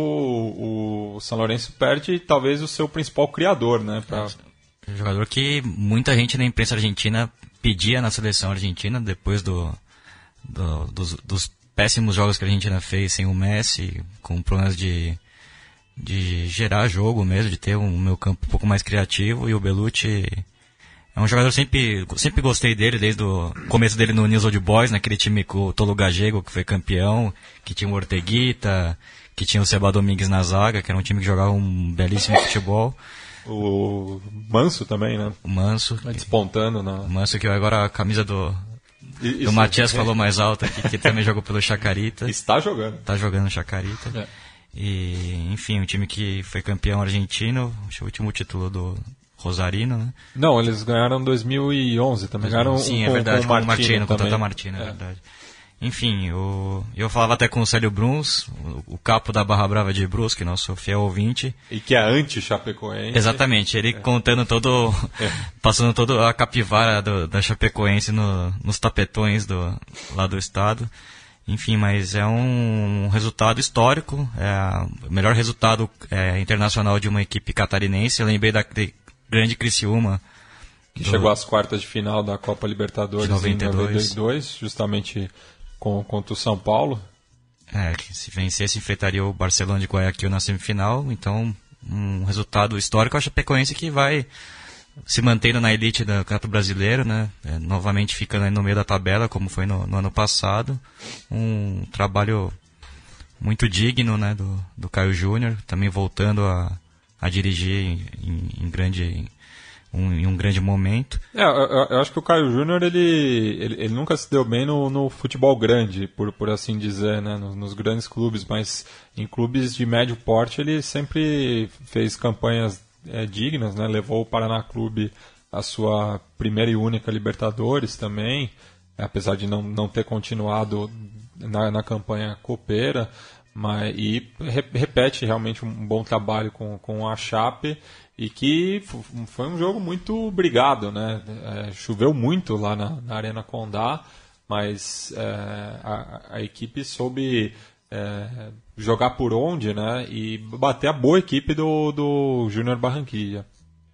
o São Lourenço perde talvez o seu principal criador, né? Pra... Um jogador que muita gente na imprensa argentina pedia na seleção argentina, depois do, do, dos, dos péssimos jogos que a Argentina fez sem o Messi, com problemas de, de gerar jogo mesmo, de ter um meio campo um pouco mais criativo, e o Belucci é um jogador, sempre, sempre gostei dele, desde o começo dele no News Old Boys, naquele time com o Tolo Gallego, que foi campeão, que tinha o Orteguita, que tinha o Seba Domingues na zaga, que era um time que jogava um belíssimo futebol. O Manso também, né? O Manso. Vai despontando na... O Manso, que agora a camisa do, Isso, do Matias é. falou mais alta, que, que também jogou pelo Chacarita. Está jogando. Está jogando no Chacarita. É. E, enfim, um time que foi campeão argentino, acho que o último título do Rosarino, né? Não, eles ganharam em dois mil e onze também. Ganharam Sim, um, é verdade, com o com o Martino, com o Tata Martino, é verdade. Enfim, o, eu falava até com o Célio Bruns, o, o capo da Barra Brava de Brusque, nosso fiel ouvinte. E que é anti-Chapecoense. Exatamente, ele é. contando todo, é. passando toda a capivara do, da Chapecoense no, nos tapetões do, lá do estado. Enfim, mas é um resultado histórico, é o melhor resultado é, internacional de uma equipe catarinense. Eu lembrei da de grande Criciúma, que do, chegou às quartas de final da Copa Libertadores de noventa e dois. Em noventa e dois, justamente com, contra o São Paulo. É, que se vencesse enfrentaria o Barcelona de Guayaquil na semifinal, então um resultado histórico. A Chapecoense que vai se mantendo na elite do Campeonato Brasileiro, né? É, novamente ficando aí no meio da tabela, como foi no, no ano passado. Um trabalho muito digno, né, do, do Caio Júnior, também voltando a, a dirigir em, em grande... Um, em um grande momento. É, eu, eu acho que o Caio Júnior ele, ele, ele nunca se deu bem no, no futebol grande, por, por assim dizer, né? nos, nos grandes clubes, mas em clubes de médio porte ele sempre fez campanhas é, dignas, né? Levou o Paraná Clube à sua primeira e única Libertadores também, apesar de não, não ter continuado na, na campanha copeira, mas, e re, repete realmente um bom trabalho com, com a Chape. E que foi um jogo muito brigado, né? É, choveu muito lá na, na Arena Condá, mas é, a, a equipe soube é, jogar por onde, né? E bater a boa equipe do, do Júnior Barranquilla.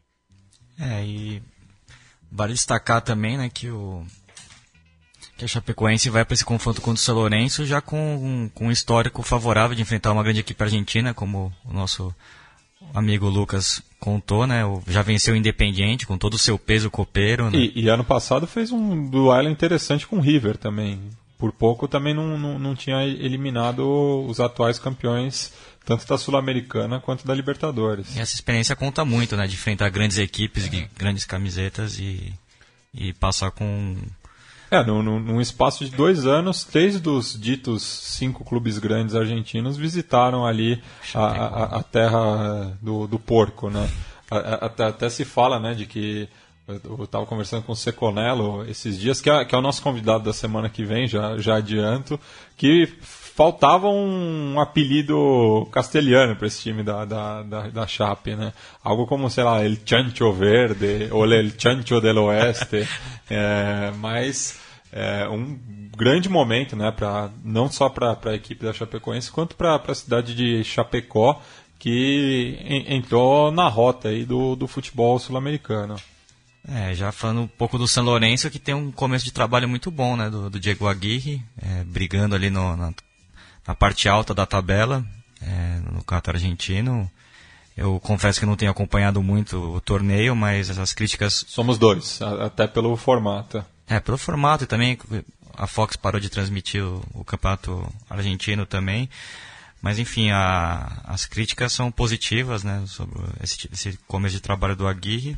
É, e vale destacar também, né, que o que a Chapecoense vai para esse confronto contra o São Lourenço já com, com um histórico favorável de enfrentar uma grande equipe argentina, como o nosso amigo Lucas contou, né? Já venceu o Independiente com todo o seu peso copeiro, né? E, e ano passado fez um duelo interessante com o River também. Por pouco também não, não, não tinha eliminado os atuais campeões, tanto da Sul-Americana quanto da Libertadores. E essa experiência conta muito, né? De enfrentar grandes equipes, é. grandes camisetas e, e passar com... É, no, no, num espaço de dois anos, três dos ditos cinco clubes grandes argentinos visitaram ali a, a, a terra do, do porco, né? Até, até se fala, né, de que eu estava conversando com o Seconello esses dias, que é, que é o nosso convidado da semana que vem, já, já adianto, que faltava um apelido castelhano para esse time da, da, da, da Chape, né? Algo como, sei lá, El Chancho Verde ou El Chancho del Oeste, é, mas é um grande momento, né, pra, não só para a equipe da Chapecoense, quanto para a cidade de Chapecó, que en, entrou na rota aí do, do futebol sul-americano. É, já falando um pouco do São Lourenço, que tem um começo de trabalho muito bom, né, do, do Diego Aguirre, é, brigando ali no, na, na parte alta da tabela, é, no campeonato argentino. Eu confesso que não tenho acompanhado muito o torneio, mas essas críticas... Somos dois, até pelo formato. É, pelo formato e também a Fox parou de transmitir o, o campeonato argentino também. Mas enfim, a, as críticas são positivas, né, sobre esse, esse começo de trabalho do Aguirre.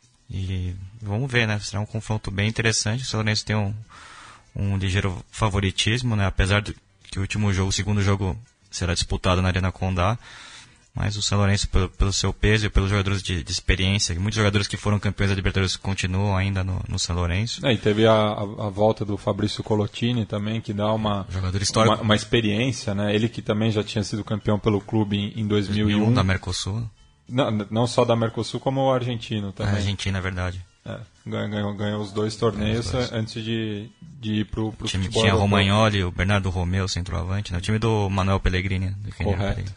E vamos ver, né? Será um confronto bem interessante. O São Lourenço tem um, um ligeiro favoritismo, né? Apesar de que o último jogo, o segundo jogo, será disputado na Arena Condá. Mas o São Lourenço, pelo, pelo seu peso e pelos jogadores de, de experiência, muitos jogadores que foram campeões da Libertadores continuam ainda no, no São Lourenço. É, e teve a, a, a volta do Fabrício Colottini também, que dá uma, jogador histórico. uma, uma experiência, né? Ele que também já tinha sido campeão pelo clube em, em dois mil e um. dois mil e um da Mercosul. Não, não só da Mercosul, como o argentino também. A Argentina, é verdade. É, ganhou, ganhou, ganhou os dois torneios os dois. antes de, de ir pro, pro o time futebol tinha europeu. Romagnoli, o Bernardo Romeu, centroavante, né? O time do Manuel Pellegrini. Do Correto. Pellegrini.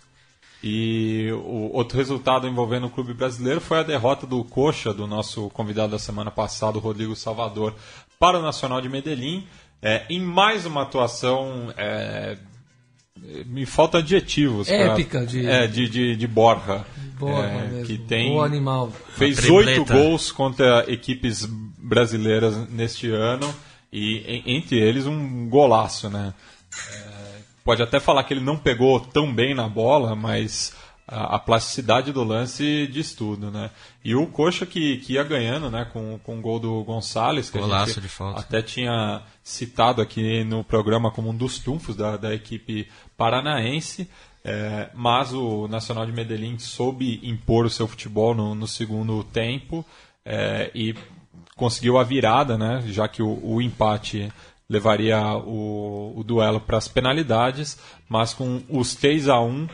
E o outro resultado envolvendo o clube brasileiro foi a derrota do Coxa, do nosso convidado da semana passada, o Rodrigo Salvador, para o Nacional de Medellín, é, em mais uma atuação, é, me faltam adjetivos. Épica pra, de... É, de, de, de Borja. Borja é, mesmo. Que tem, o animal. fez oito gols contra equipes brasileiras neste ano, e entre eles um golaço, né? É, pode até falar que ele não pegou tão bem na bola, mas a, a plasticidade do lance diz tudo, né? E o Coxa que, que ia ganhando, né, com, com o gol do Gonçalves, que Golaço a gente de falta. até tinha citado aqui no programa como um dos trunfos da, da equipe paranaense, é, mas o Nacional de Medellín soube impor o seu futebol no, no segundo tempo, é, e conseguiu a virada, né, já que o, o empate levaria o, o duelo para as penalidades, mas com os três a um,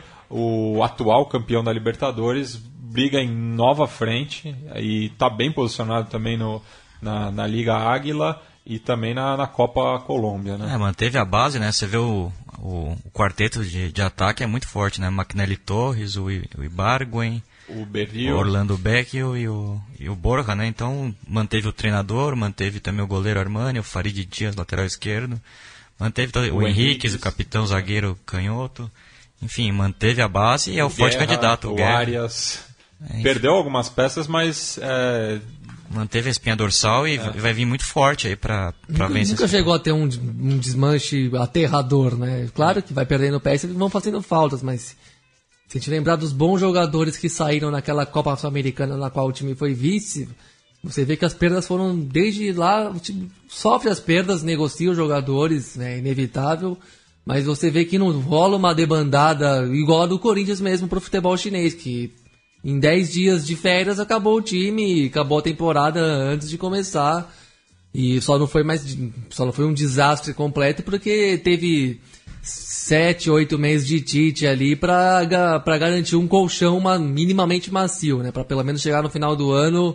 o atual campeão da Libertadores briga em nova frente e está bem posicionado também no, na, na Liga Águila e também na, na Copa Colômbia, né? É, manteve a base, né? Você vê o, o, o quarteto de, de ataque é muito forte, né? Maquinelli Torres, o, o Ibargüen, o Berrio, o Orlando Becchio e o, e o Borja, né? Então manteve o treinador, manteve também o goleiro Armani, o Farid Dias, lateral esquerdo, manteve o, o Henriquez, o capitão zagueiro canhoto, enfim, manteve a base e é o, o forte Guerra, candidato. O Guerra. Arias é, perdeu algumas peças, mas é... manteve a espinha dorsal e é. vai vir muito forte aí para vencer. Nunca chegou a ter um, um desmanche aterrador, né? Claro que vai perdendo peças e vão fazendo faltas, mas se a gente lembrar dos bons jogadores que saíram naquela Copa Sul-Americana na qual o time foi vice, você vê que as perdas foram desde lá, o time sofre as perdas, negocia os jogadores, né, inevitável, mas você vê que não rola uma debandada igual a do Corinthians mesmo pro futebol chinês, que em dez dias de férias acabou o time, acabou a temporada antes de começar, e só não foi mais, só não foi um desastre completo porque teve sete, oito meses de Tite ali para para garantir um colchão uma, minimamente macio, né? Para pelo menos chegar no final do ano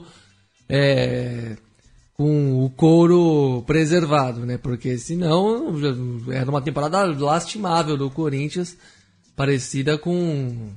é, com o couro preservado, né? Porque senão era uma temporada lastimável do Corinthians, parecida com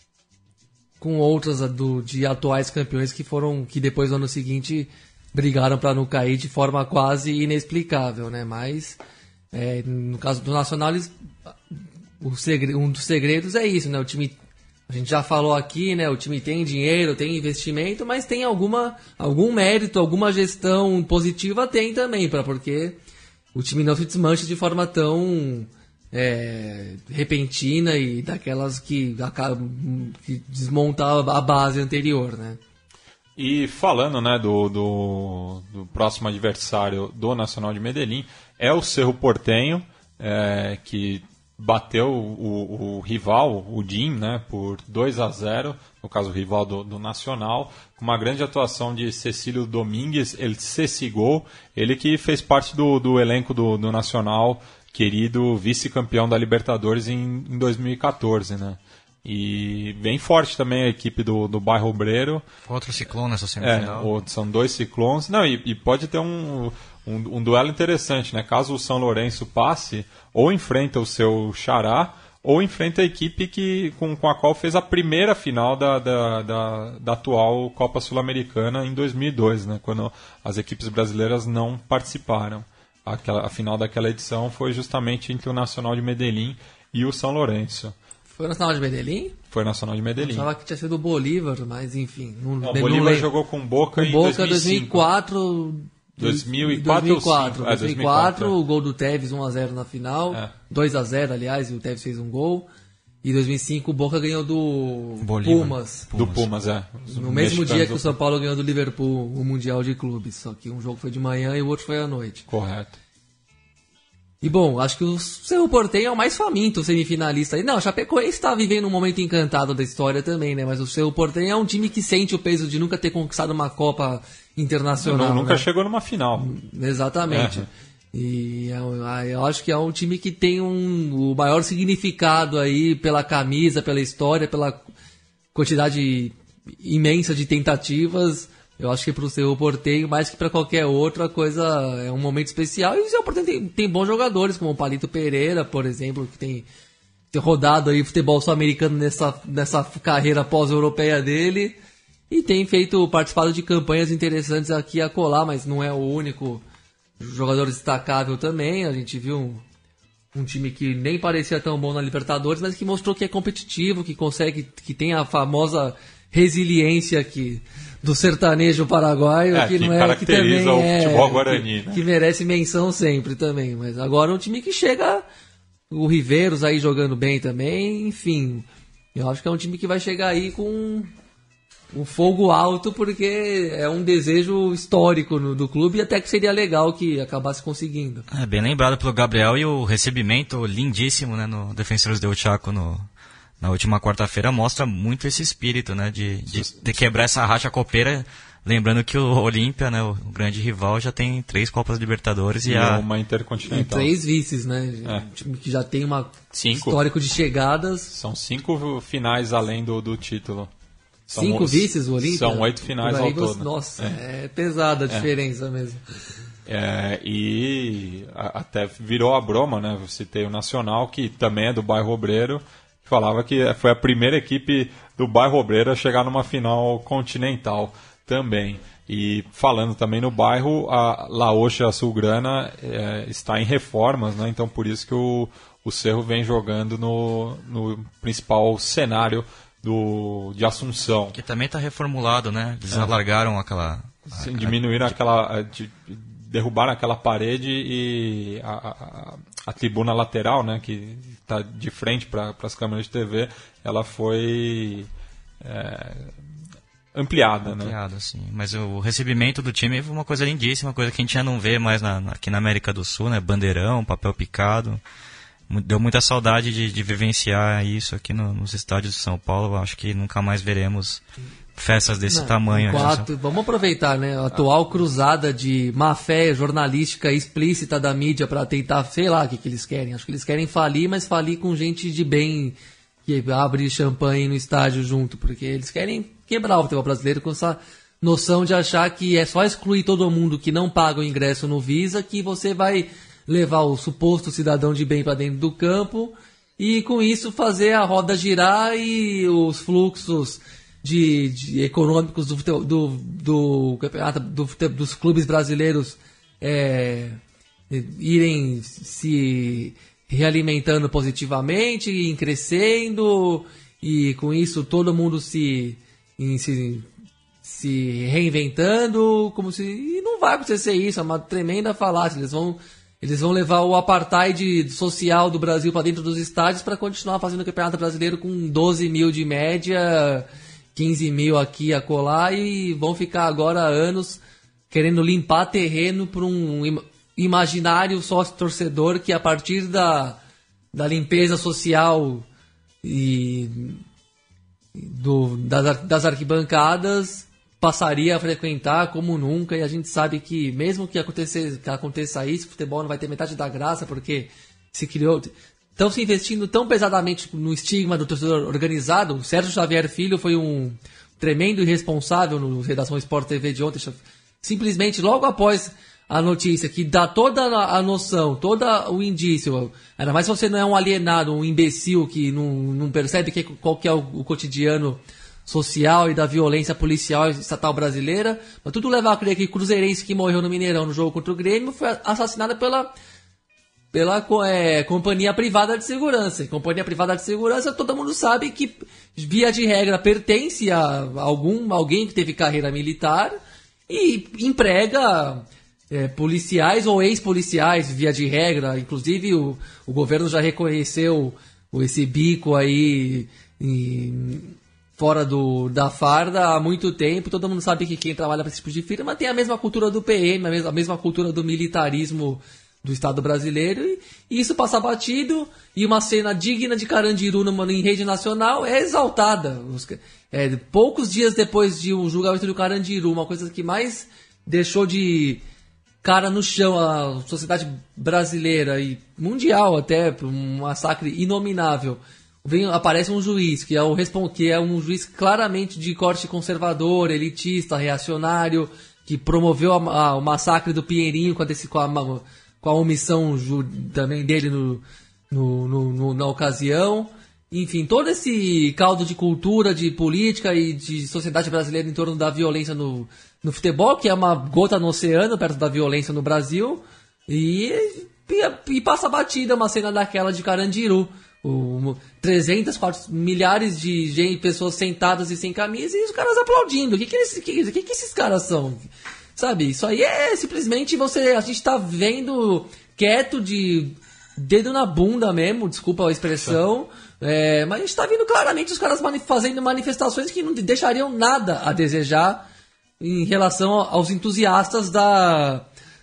com outras do, de atuais campeões que foram que depois no ano seguinte brigaram para não cair de forma quase inexplicável, né? Mas é, no caso do Nacional, eles, o segredo, um dos segredos é isso, né? O time, a gente já falou aqui, né? O time tem dinheiro, tem investimento, mas tem alguma, algum mérito, alguma gestão positiva tem também, pra, porque o time não se desmancha de forma tão é, repentina e daquelas que, que desmonta a base anterior, né? E falando, né, do, do, do próximo adversário do Nacional de Medellín, é o Cerro Porteño, é, que bateu o, o rival, o D I M, né, por dois a zero, no caso o rival do, do Nacional, com uma grande atuação de Cecílio Domingues, ele Cecigol, ele que fez parte do, do elenco do, do Nacional, querido vice-campeão da Libertadores em, em dois mil e quatorze, né. E bem forte também a equipe do, do Bairro Obreiro. Outro ciclone nessa semifinal. É, são dois ciclones. Não, e, e pode ter um, um, um duelo interessante, né? Caso o São Lourenço passe, ou enfrenta o seu xará, ou enfrenta a equipe que, com, com a qual fez a primeira final da, da, da, da atual Copa Sul-Americana em dois mil e dois, né? Quando as equipes brasileiras não participaram. Aquela, a final daquela edição foi justamente entre o Nacional de Medellín e o São Lourenço. Foi o Nacional de Medellín? Foi o Nacional de Medellín. Eu achava que tinha sido o Bolívar, mas enfim. Não, não, o Bolívar não jogou com Boca com em Boca dois mil e cinco. dois mil e quatro. dois mil e quatro. É, dois mil e quatro, o gol do Tevez um a zero na final. É. dois a zero, aliás, e o Tevez fez um gol. E em dois mil e cinco o Boca ganhou do Bolívar. Pumas. Do Pumas, é. Os No mesmo dia que o mexicanos São Paulo ganhou do Liverpool o Mundial de Clubes. Só que um jogo foi de manhã e o outro foi à noite. Correto. E bom, acho que o Cerro Porteño é o mais faminto semifinalista. Não, o Chapecoense está vivendo um momento encantado da história também, né? Mas o Cerro Porteño é um time que sente o peso de nunca ter conquistado uma Copa internacional. Não, nunca né? chegou numa final. Exatamente. É. E eu, eu acho que é um time que tem um, o maior significado aí pela camisa, pela história, pela quantidade imensa de tentativas. Eu acho que para o Cerro Porteño, mais que para qualquer outra coisa, é um momento especial. E o Cerro Porteño tem, tem bons jogadores, como o Palito Pereira, por exemplo, que tem, tem rodado aí futebol sul-americano nessa, nessa carreira pós-europeia dele. E tem feito, participado de campanhas interessantes aqui e acolá, mas não é o único jogador destacável também. A gente viu um, um time que nem parecia tão bom na Libertadores, mas que mostrou que é competitivo, que consegue, que tem a famosa resiliência que, do sertanejo paraguaio, É, que, que não é caracteriza que também o é, futebol guarani, que, né? que merece menção sempre também. Mas agora é um time que chega, o Riveiros aí jogando bem também, enfim. Eu acho que é um time que vai chegar aí com um fogo alto, porque é um desejo histórico no, do clube, e até que seria legal que acabasse conseguindo. É bem lembrado pelo Gabriel, e o recebimento lindíssimo, né, no Defensores del Chaco no, na última quarta-feira mostra muito esse espírito, né, de, de, de quebrar essa racha copeira. Lembrando que o Olímpia, né, o grande rival, já tem três Copas Libertadores e, E a... uma E intercontinental. três vices, né? É. Um time que já tem uma Cinco. histórico de chegadas. São cinco finais além do, do título. São Cinco os- vices, o Olímpia? São oito finais Por aí ao você- todo. Nossa, é, pesada a diferença mesmo. É, e a- até virou a broma, né? Eu citei o Nacional, que também é do bairro Obreiro, que falava que foi a primeira equipe do bairro Obreiro a chegar numa final continental também. E falando também no bairro, a Laocha Sulgrana é, está em reformas, né? Então por isso que o, o Cerro vem jogando no, no principal cenário do, de Assunção. que também está reformulado, né? Eles alargaram aquela... Sim, diminuíram aquela. De, derrubaram aquela parede e a, a, a tribuna lateral, né, que está de frente para as câmeras de T V, ela foi é, ampliada, né? Ampliado, assim. Mas o recebimento do time foi uma coisa lindíssima, coisa que a gente já não vê mais na, na- aqui na América do Sul, né? Bandeirão, papel picado. Mu- Deu muita saudade de, de vivenciar isso aqui no- nos estádios de São Paulo. Eu acho que nunca mais veremos festas desse Não, tamanho. né? enquanto- vamos aproveitar, né? A atual cruzada de má-fé jornalística explícita da mídia para tentar, sei lá o que, que eles querem. Acho que eles querem falir, mas falir com gente de bem que abre champanhe no estádio junto, porque eles querem quebrar o futebol brasileiro com essa noção de achar que é só excluir todo mundo que não paga o ingresso no Visa que você vai levar o suposto cidadão de bem para dentro do campo e com isso fazer a roda girar e os fluxos de, de econômicos do, fute- do, do campeonato do, fute- dos clubes brasileiros é, irem se realimentando positivamente, e crescendo, e com isso todo mundo se, em- se, se reinventando, como se. E não vai acontecer isso, é uma tremenda falácia. Eles vão, eles vão levar o apartheid social do Brasil para dentro dos estádios para continuar fazendo o Campeonato Brasileiro com doze mil de média, quinze mil aqui e acolá, e vão ficar agora anos querendo limpar terreno para um im- imaginário sócio-torcedor que a partir da, da limpeza social e do, das, ar- das arquibancadas passaria a frequentar como nunca, e a gente sabe que mesmo que aconteça, que aconteça isso, o futebol não vai ter metade da graça, porque se criou... Estão se investindo tão pesadamente no estigma do torcedor organizado. O Sérgio Xavier Filho foi um tremendo irresponsável no Redação Sport T V de ontem, simplesmente logo após a notícia que dá toda a noção, todo o indício, ainda mais se você não é um alienado, um imbecil que não, não percebe que, qual que é o, o cotidiano social e da violência policial estatal brasileira, mas tudo leva a crer que o cruzeirense que morreu no Mineirão no jogo contra o Grêmio foi assassinado pela, pela é, companhia privada de segurança. E companhia privada de segurança, todo mundo sabe que, via de regra, pertence a algum, alguém que teve carreira militar e emprega é, policiais ou ex-policiais, via de regra. Inclusive, o, o governo já reconheceu esse bico aí em, fora do, da farda há muito tempo. Todo mundo sabe que quem trabalha para esse tipo de firma tem a mesma cultura do P M, a mesma, a mesma cultura do militarismo do Estado brasileiro, e, e isso passa batido, e uma cena digna de Carandiru numa, em rede nacional é exaltada. Os, é, poucos dias depois de um julgamento do Carandiru, uma coisa que mais deixou de cara no chão a sociedade brasileira e mundial até, um massacre inominável. Vem, aparece um juiz que é, o, que é um juiz claramente de corte conservador, elitista, reacionário, que promoveu a, a, o massacre do Pinheirinho com a, desse, com a, com a omissão ju, também dele no, no, no, no, na ocasião. Enfim, todo esse caldo de cultura, de política e de sociedade brasileira em torno da violência no, no futebol, que é uma gota no oceano perto da violência no Brasil, e, e, e passa batida uma cena daquela de Carandiru. O, trezentas, quatrocentas, milhares de gente, pessoas sentadas e sem camisa, e os caras aplaudindo. O que que, eles, que, que, que esses caras são? Sabe, isso aí é simplesmente você... A gente tá vendo quieto, de dedo na bunda mesmo, desculpa a expressão, é, mas a gente tá vendo claramente os caras mani- fazendo manifestações que não deixariam nada a desejar em relação aos entusiastas da,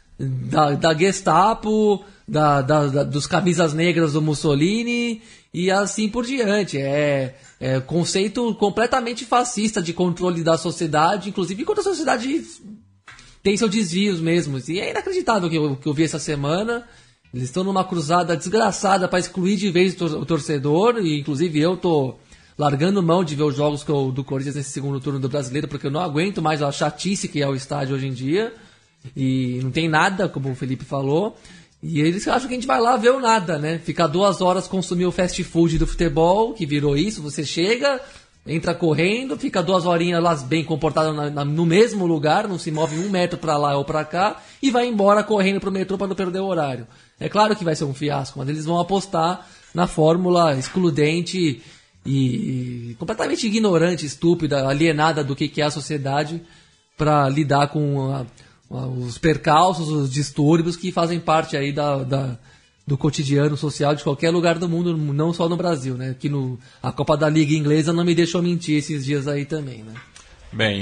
da, da Gestapo, Da, da, da, dos camisas negras do Mussolini e assim por diante. É, é conceito completamente fascista de controle da sociedade, inclusive enquanto a sociedade tem seus desvios mesmo. E é inacreditável o que eu, que eu vi essa semana. Eles estão numa cruzada desgraçada para excluir de vez o torcedor, e inclusive eu tô largando mão de ver os jogos do Corinthians nesse segundo turno do Brasileiro, porque eu não aguento mais a chatice que é o estádio hoje em dia, e não tem nada, como o Felipe falou. E eles acham que a gente vai lá ver o nada, né? Ficar duas horas consumir o fast food do futebol, que virou isso. Você chega, entra correndo, fica duas horinhas lá bem comportado na, na, no mesmo lugar, não se move um metro pra lá ou pra cá, e vai embora correndo pro metrô pra não perder o horário. É claro que vai ser um fiasco, mas eles vão apostar na fórmula excludente e, e completamente ignorante, estúpida, alienada do que, que é a sociedade pra lidar com a... os percalços, os distúrbios que fazem parte aí da, da, do cotidiano social de qualquer lugar do mundo, não só no Brasil, né? Que no, a Copa da Liga Inglesa não me deixou mentir esses dias aí também, né? Bem,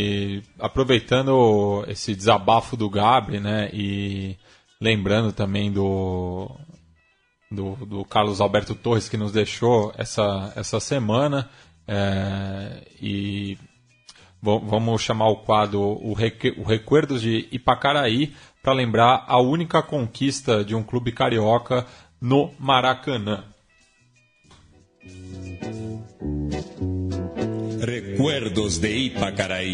e aproveitando esse desabafo do Gabri, né? E lembrando também do, do, do Carlos Alberto Torres, que nos deixou essa, essa semana, é, e... vamos chamar o quadro o, Reque, o Recuerdos de Ipacaraí, para lembrar a única conquista de um clube carioca no Maracanã. Recuerdos de Ipacaraí.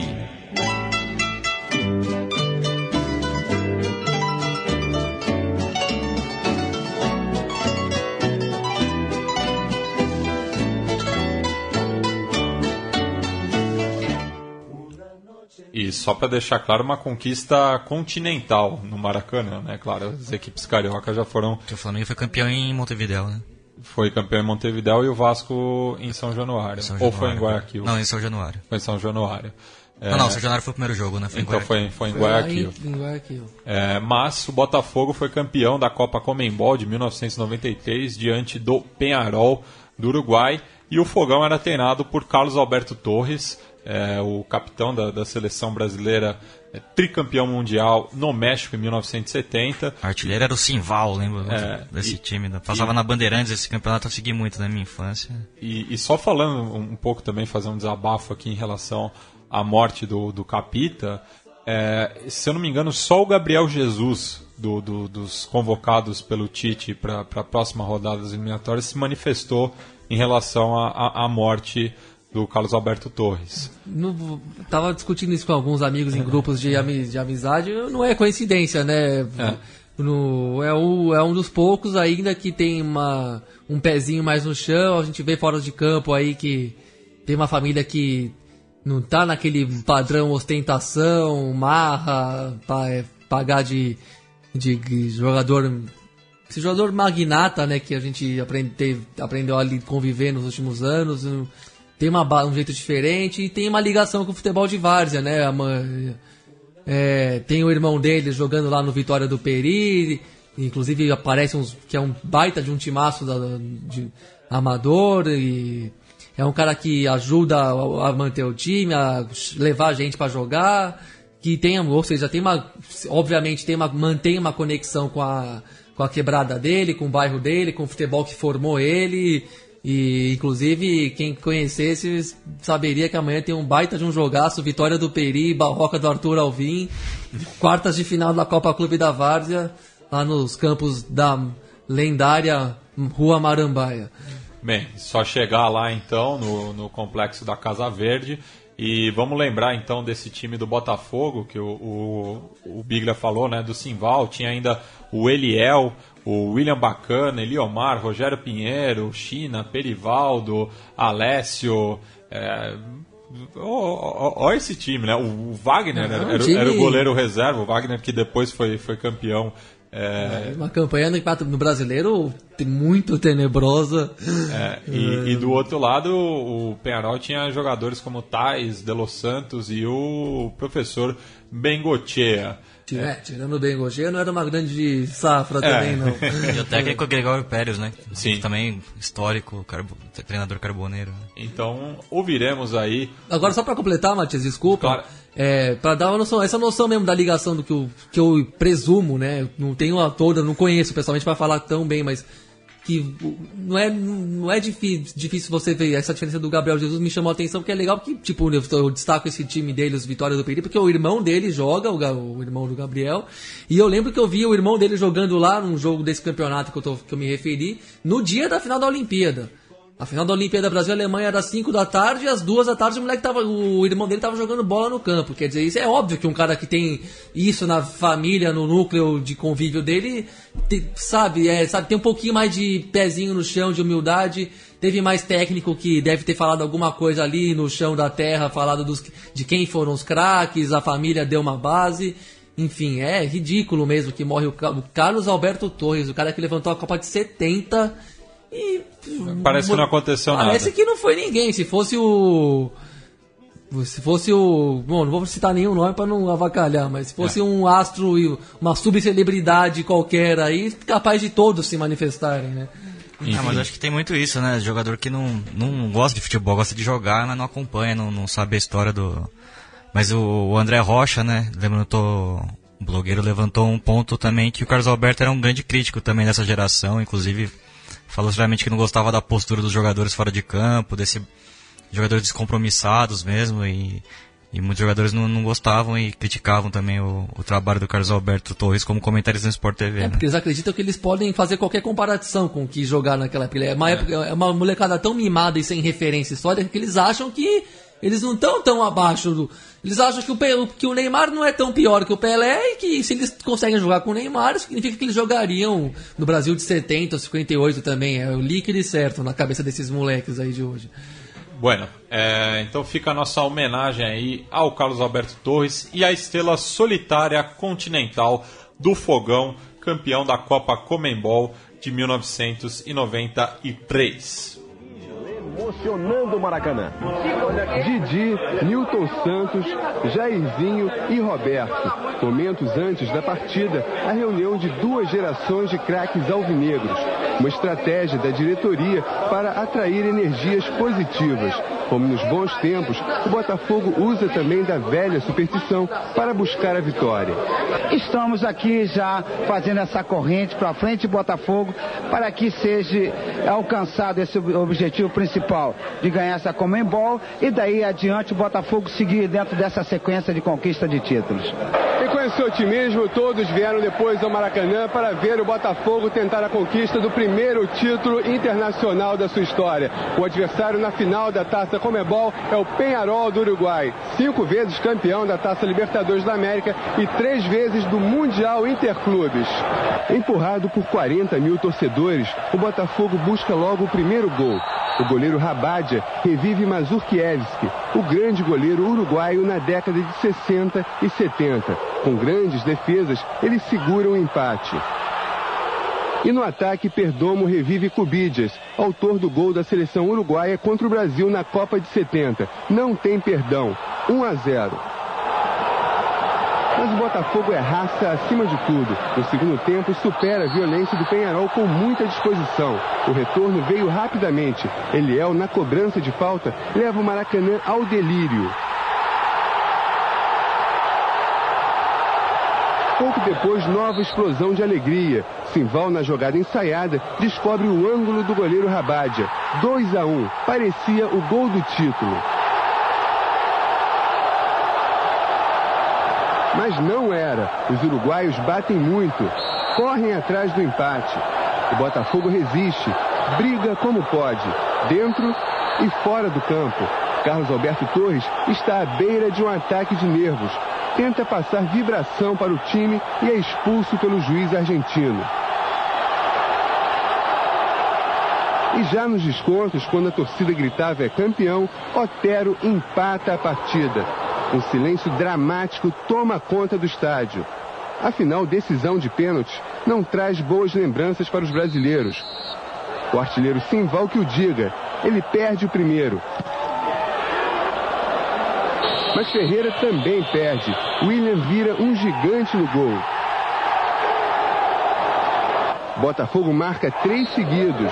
E só para deixar claro, uma conquista continental no Maracanã, né? Claro, as equipes cariocas já foram... O Flamengo foi campeão em Montevidéu, né? Foi campeão em Montevidéu e o Vasco em São Januário. São Januário. Ou foi em Guayaquil? Não, em São Januário. Foi em São Januário. É... Não, não, São Januário foi o primeiro jogo, né? Foi então em foi, foi em Guayaquil. Em, em Guayaquil. É, mas o Botafogo foi campeão da Copa Comembol de mil novecentos e noventa e três diante do Peñarol do Uruguai, e o Fogão era treinado por Carlos Alberto Torres, é, o capitão da, da seleção brasileira, é, tricampeão mundial no México em mil novecentos e setenta. O artilheiro era o Simval, lembro é, desse e, time. Passava e, na Bandeirantes esse campeonato, eu segui muito na minha infância. E, e só falando um pouco também, fazer um desabafo aqui em relação à morte do, do Capita, é, se eu não me engano, só o Gabriel Jesus, do, do, dos convocados pelo Tite para a próxima rodada das eliminatórias, se manifestou em relação à morte do Carlos Alberto Torres. No, tava discutindo isso com alguns amigos em grupos de, ami, de amizade, não é coincidência, né? É. No, é, o, é um dos poucos ainda que tem uma, um pezinho mais no chão. A gente vê fora de campo aí que tem uma família que não tá naquele padrão ostentação, marra, pa, é, pagar de, de, de jogador... Esse jogador magnata, né, que a gente aprende, aprendeu a conviver nos últimos anos... Tem uma, um jeito diferente e tem uma ligação com o futebol de várzea, né? É, tem o irmão dele jogando lá no Vitória do Peri, inclusive aparece uns, que é um baita de um timaço da, de, amador e é um cara que ajuda a, a manter o time, a levar a gente para jogar, que tem, ou seja, tem uma, obviamente tem uma, mantém uma conexão com a, com a quebrada dele, com o bairro dele, com o futebol que formou ele. E, inclusive, quem conhecesse saberia que amanhã tem um baita de um jogaço, Vitória do Peri, Barroca do Arthur Alvim, quartas de final da Copa Clube da Várzea, lá nos campos da lendária Rua Marambaia. Bem, só chegar lá então, no, no complexo da Casa Verde. E vamos lembrar então desse time do Botafogo, que o, o, o Biglia falou, né, do Simval, tinha ainda o Eliel, o William Bacana, Eliomar, Rogério Pinheiro, China, Perivaldo, Alessio. É, Olha esse time, né? O, o Wagner Não, era, era, time... era o goleiro reserva, o Wagner que depois foi, foi campeão. É... Uma campanha no, no brasileiro muito tenebrosa. É, e, é... e do outro lado, o Peñarol tinha jogadores como Tais, De Los Santos e o professor Bengochea. É, é. Tirando o Bengochea, não era uma grande safra é. também, não. E o técnico Gregório Pérez, né? Sim. Também histórico, carbo... treinador carboneiro. Então, ouviremos aí... Agora, só para completar, Matias, desculpa... Claro. É, para dar uma noção, essa noção mesmo da ligação do que eu, que eu presumo, né? Não tenho a toda, não conheço pessoalmente para falar tão bem, mas que não é, não é difícil, difícil você ver essa diferença do Gabriel Jesus. Me chamou a atenção porque é legal, porque tipo, eu, eu destaco esse time dele, os Vitória do Peri, porque o irmão dele joga, o, o irmão do Gabriel, e eu lembro que eu vi o irmão dele jogando lá num jogo desse campeonato que eu, tô, que eu me referi, no dia da final da Olimpíada. A final da Olimpíada Brasil-Alemanha era às cinco da tarde e às duas da tarde o moleque tava, o irmão dele tava jogando bola no campo. Quer dizer, isso é óbvio que um cara que tem isso na família, no núcleo de convívio dele, te, sabe, é, sabe, tem um pouquinho mais de pezinho no chão, de humildade. Teve mais técnico que deve ter falado alguma coisa ali no chão da terra, falado dos, de quem foram os craques, a família deu uma base. Enfim, é ridículo mesmo que morre o, o Carlos Alberto Torres, o cara que levantou a Copa de setenta... E, parece que não aconteceu parece nada. Parece que não foi ninguém. Se fosse o... Se fosse o... Bom, não vou citar nenhum nome para não avacalhar, mas se fosse é. um astro e uma subcelebridade qualquer aí, capaz de todos se manifestarem, né? Ah, mas acho que tem muito isso, né? Jogador que não, não gosta de futebol, gosta de jogar, mas não acompanha, não, não sabe a história do... Mas o, o André Rocha, né? Levantou... O blogueiro levantou um ponto também que o Carlos Alberto era um grande crítico também dessa geração, inclusive... Falou realmente que não gostava da postura dos jogadores fora de campo, desse jogadores descompromissados mesmo, e, e muitos jogadores não, não gostavam e criticavam também o, o trabalho do Carlos Alberto Torres como comentarista no Sport T V. É, né? Porque eles acreditam que eles podem fazer qualquer comparação com o que jogar naquela época. É uma, é. Época, é uma molecada tão mimada e sem referência histórica que eles acham que eles não estão tão abaixo do... Eles acham que o, que o Neymar não é tão pior que o Pelé e que se eles conseguem jogar com o Neymar, significa que eles jogariam no Brasil de setenta, cinquenta e oito também. É o líquido e certo na cabeça desses moleques aí de hoje. Bueno, é, então fica a nossa homenagem aí ao Carlos Alberto Torres e à estrela solitária continental do Fogão, campeão da Copa Comembol de mil novecentos e noventa e três. Emocionando o Maracanã. Didi, Nilton Santos, Jairzinho e Roberto. Momentos antes da partida, a reunião de duas gerações de craques alvinegros. Uma estratégia da diretoria para atrair energias positivas. Como nos bons tempos, o Botafogo usa também da velha superstição para buscar a vitória. Estamos aqui já fazendo essa corrente para frente, Botafogo, para que seja alcançado esse objetivo principal de ganhar essa Comembol e daí adiante o Botafogo seguir dentro dessa sequência de conquista de títulos. E com esse otimismo, todos vieram depois ao Maracanã para ver o Botafogo tentar a conquista do primeiro título internacional da sua história. O adversário na final da Taça Comebol é o Peñarol do Uruguai, cinco vezes campeão da Taça Libertadores da América e três vezes do Mundial Interclubes. Empurrado por quarenta mil torcedores, o Botafogo busca logo o primeiro gol. O goleiro Rabadia revive Mazurkiewicz, o grande goleiro uruguaio na década de sessenta e setenta. Com grandes defesas, ele segura o empate. E no ataque, Perdomo revive Cubidias, autor do gol da seleção uruguaia contra o Brasil na Copa de setenta. Não tem perdão. um a zero. Mas o Botafogo é raça acima de tudo. No segundo tempo, supera a violência do Peñarol com muita disposição. O retorno veio rapidamente. Eliel, na cobrança de falta, leva o Maracanã ao delírio. Pouco depois, nova explosão de alegria. Simval, na jogada ensaiada, descobre o ângulo do goleiro Rabadia. dois a um. Parecia o gol do título. Mas não era. Os uruguaios batem muito. Correm atrás do empate. O Botafogo resiste. Briga como pode. Dentro e fora do campo. Carlos Alberto Torres está à beira de um ataque de nervos. Tenta passar vibração para o time e é expulso pelo juiz argentino. E já nos descontos, quando a torcida gritava é campeão, Otero empata a partida. Um silêncio dramático toma conta do estádio. Afinal, decisão de pênalti não traz boas lembranças para os brasileiros. O artilheiro Simval que o diga, ele perde o primeiro. Mas Ferreira também perde. William vira um gigante no gol. Botafogo marca três seguidos.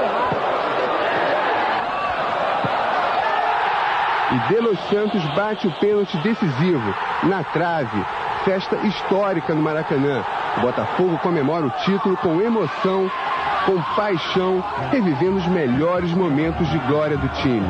E De Los Santos bate o pênalti decisivo, na trave. Festa histórica no Maracanã. O Botafogo comemora o título com emoção, com paixão, revivendo os melhores momentos de glória do time.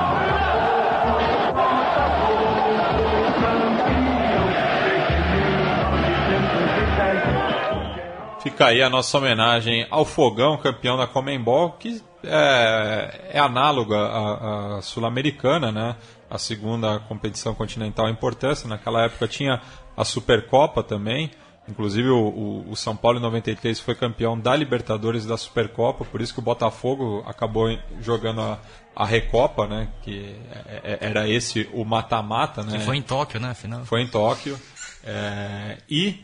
Fica aí a nossa homenagem ao Fogão, campeão da Conmebol, que é, é análoga à, à Sul-Americana, né? A segunda competição continental em importância. Naquela época tinha a Supercopa também. Inclusive o, o, o São Paulo em noventa e três foi campeão da Libertadores e da Supercopa, por isso que o Botafogo acabou jogando a, a Recopa, né? Que é, é, era esse o mata-mata, né? Que foi em Tóquio, né? Afinal. Foi em Tóquio. É, e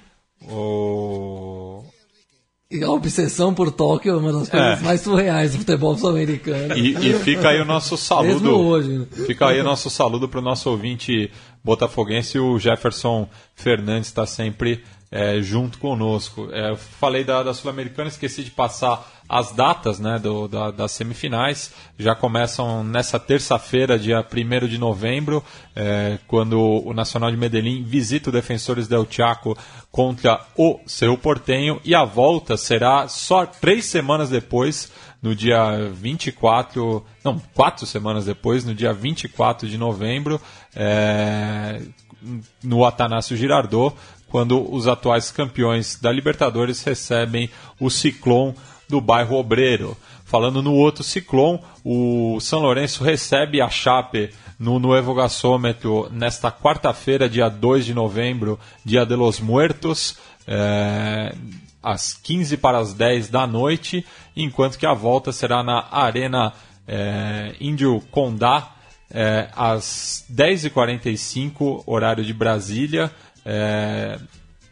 o... E a obsessão por Tóquio é uma das coisas é. mais surreais do futebol sul-americano. E, e fica aí o nosso saludo. Mesmo hoje. Fica aí o nosso saludo para o nosso ouvinte botafoguense. O Jefferson Fernandes está sempre é, junto conosco. É, eu falei da, da Sul-Americana, esqueci de passar as datas, né, do, da, das semifinais. Já começam nessa terça-feira, dia primeiro de novembro, é, quando o Nacional de Medellín visita o Defensores del Chaco contra o Cerro Porteño, e a volta será só três semanas depois, no dia vinte e quatro, não, quatro semanas depois, no dia vinte e quatro de novembro, é, no Atanásio Girardot, quando os atuais campeões da Libertadores recebem o Ciclón do bairro Obreiro. Falando no outro Ciclón, o São Lourenço recebe a Chape no Nuevo Gasômetro nesta quarta-feira, dia dois de novembro, dia de los Muertos, é, às quinze para as dez da noite, enquanto que a volta será na Arena é, Índio Condá, é, às dez e quarenta e cinco, horário de Brasília, é,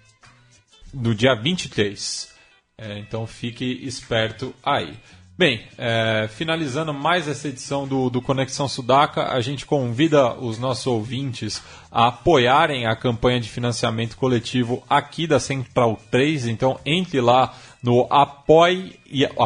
no dia vinte e três. É, então fique esperto aí. Bem, é, finalizando mais essa edição do, do Conexão Sudaca, a gente convida os nossos ouvintes a apoiarem a campanha de financiamento coletivo aqui da Central três. Então entre lá no apoia.se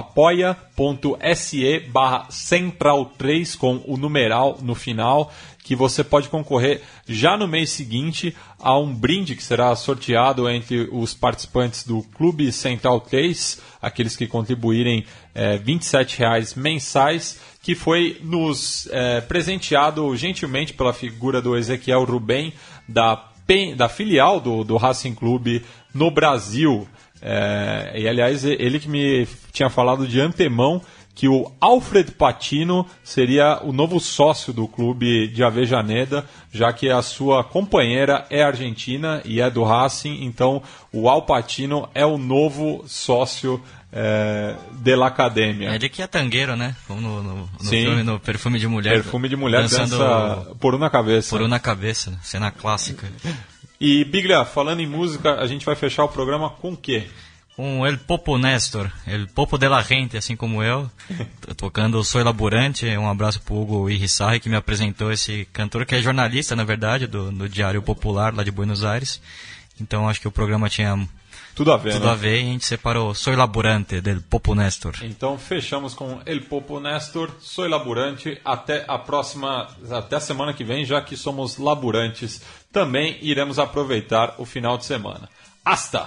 barra Central três com o numeral no final, que você pode concorrer já no mês seguinte a um brinde que será sorteado entre os participantes do Clube Central três, aqueles que contribuírem é, vinte e sete reais mensais, que foi nos é, presenteado gentilmente pela figura do Ezequiel Rubem, da, da filial do, do Racing Clube no Brasil. É, e aliás, ele que me tinha falado de antemão que o Alfred Patino seria o novo sócio do clube de Avejaneda, já que a sua companheira é argentina e é do Racing, então o Al Patino é o novo sócio é, da academia. É ele que é tangueiro, né? Como no, no, no filme, no Perfume de Mulher. Perfume de Mulher, dança por uma cabeça. Por uma cabeça, cena clássica. E, Biglia, falando em música, a gente vai fechar o programa com o quê? Com El Popo Néstor, El Popo de la Gente, assim como eu, tocando Soy Laburante. Um abraço pro Hugo Irrisarri, que me apresentou esse cantor, que é jornalista, na verdade, do, do Diário Popular, lá de Buenos Aires. Então acho que o programa tinha tudo a ver, tudo né? a ver e a gente separou Soy Laburante, del Popo Néstor. Então fechamos com El Popo Néstor, Soy Laburante. Até a próxima, até a semana que vem, já que somos laburantes, também iremos aproveitar o final de semana. Hasta!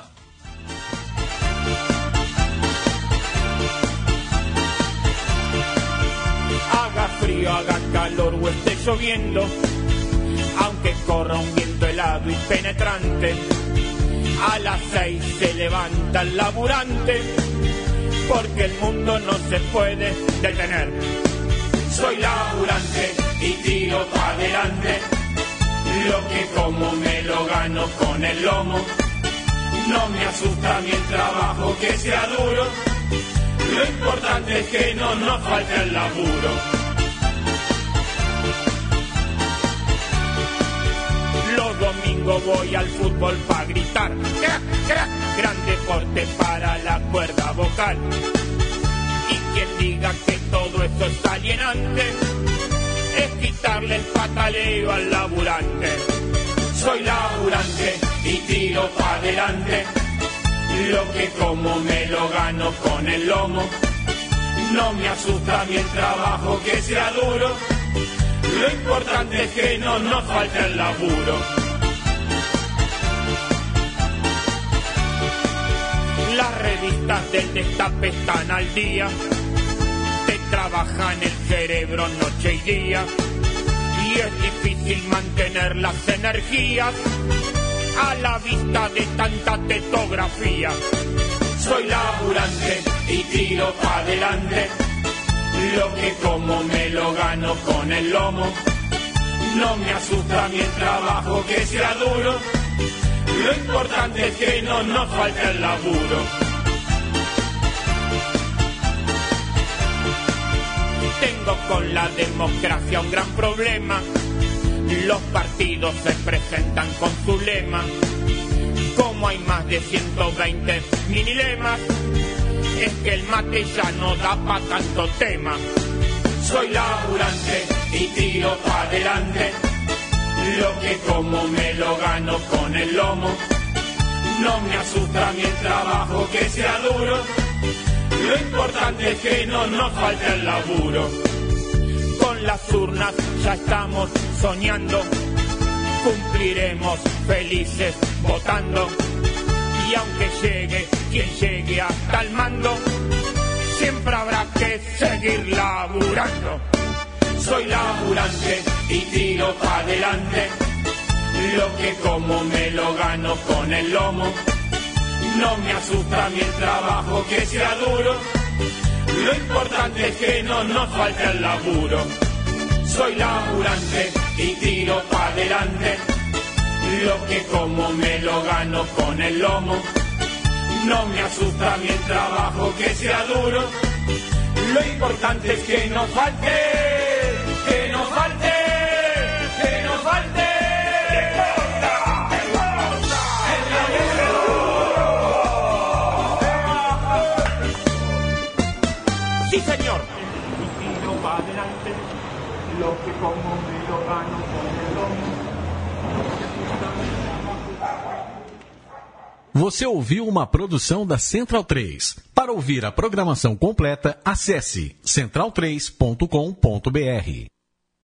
Haga frío, haga calor o esté lloviendo, aunque corra un viento helado y penetrante, a las seis se levanta el laburante, porque el mundo no se puede detener. Soy laburante y tiro para adelante, lo que como me lo gano con el lomo. No me asusta mi trabajo que sea duro, lo importante es que no nos falte el laburo. Los domingos voy al fútbol para gritar, crack, crack, gran deporte para la cuerda vocal. Y quien diga que todo esto es alienante, es quitarle el pataleo al laburante. Soy laburante y tiro para adelante, lo que como me lo gano con el lomo. No me asusta mi trabajo que sea duro, lo importante es que no nos falte el laburo. Las revistas del Destape están al día, te trabajan el cerebro noche y día, y es difícil mantener las energías a la vista de tanta tetografía. Soy laburante y tiro para adelante, lo que como me lo gano con el lomo. No me asusta mi trabajo que sea duro, lo importante es que no nos falte el laburo. Tengo con la democracia un gran problema, los partidos se presentan con su lema. Como hay más de ciento veinte mini lemas, es que el mate ya no da pa' tanto tema. Soy laburante y tiro para adelante, lo que como me lo gano con el lomo. No me asusta mi trabajo que sea duro, lo importante es que no nos falte el laburo. Con las urnas ya estamos soñando, cumpliremos felices votando. Y aunque llegue quien llegue hasta el mando, siempre habrá que seguir laburando. Soy laburante y tiro para adelante, lo que como me lo gano con el lomo. No me asusta mi trabajo que sea duro, lo importante es que no nos falte el laburo. Soy laburante y tiro para adelante, lo que como me lo gano con el lomo. No me asusta mi trabajo que sea duro, lo importante es que no falte, que no falte, que no falte. Sí, señor. Y tiro para adelante, lo que como me lo gano con el lomo. Você ouviu uma produção da Central três. Para ouvir a programação completa, acesse central três ponto com ponto br.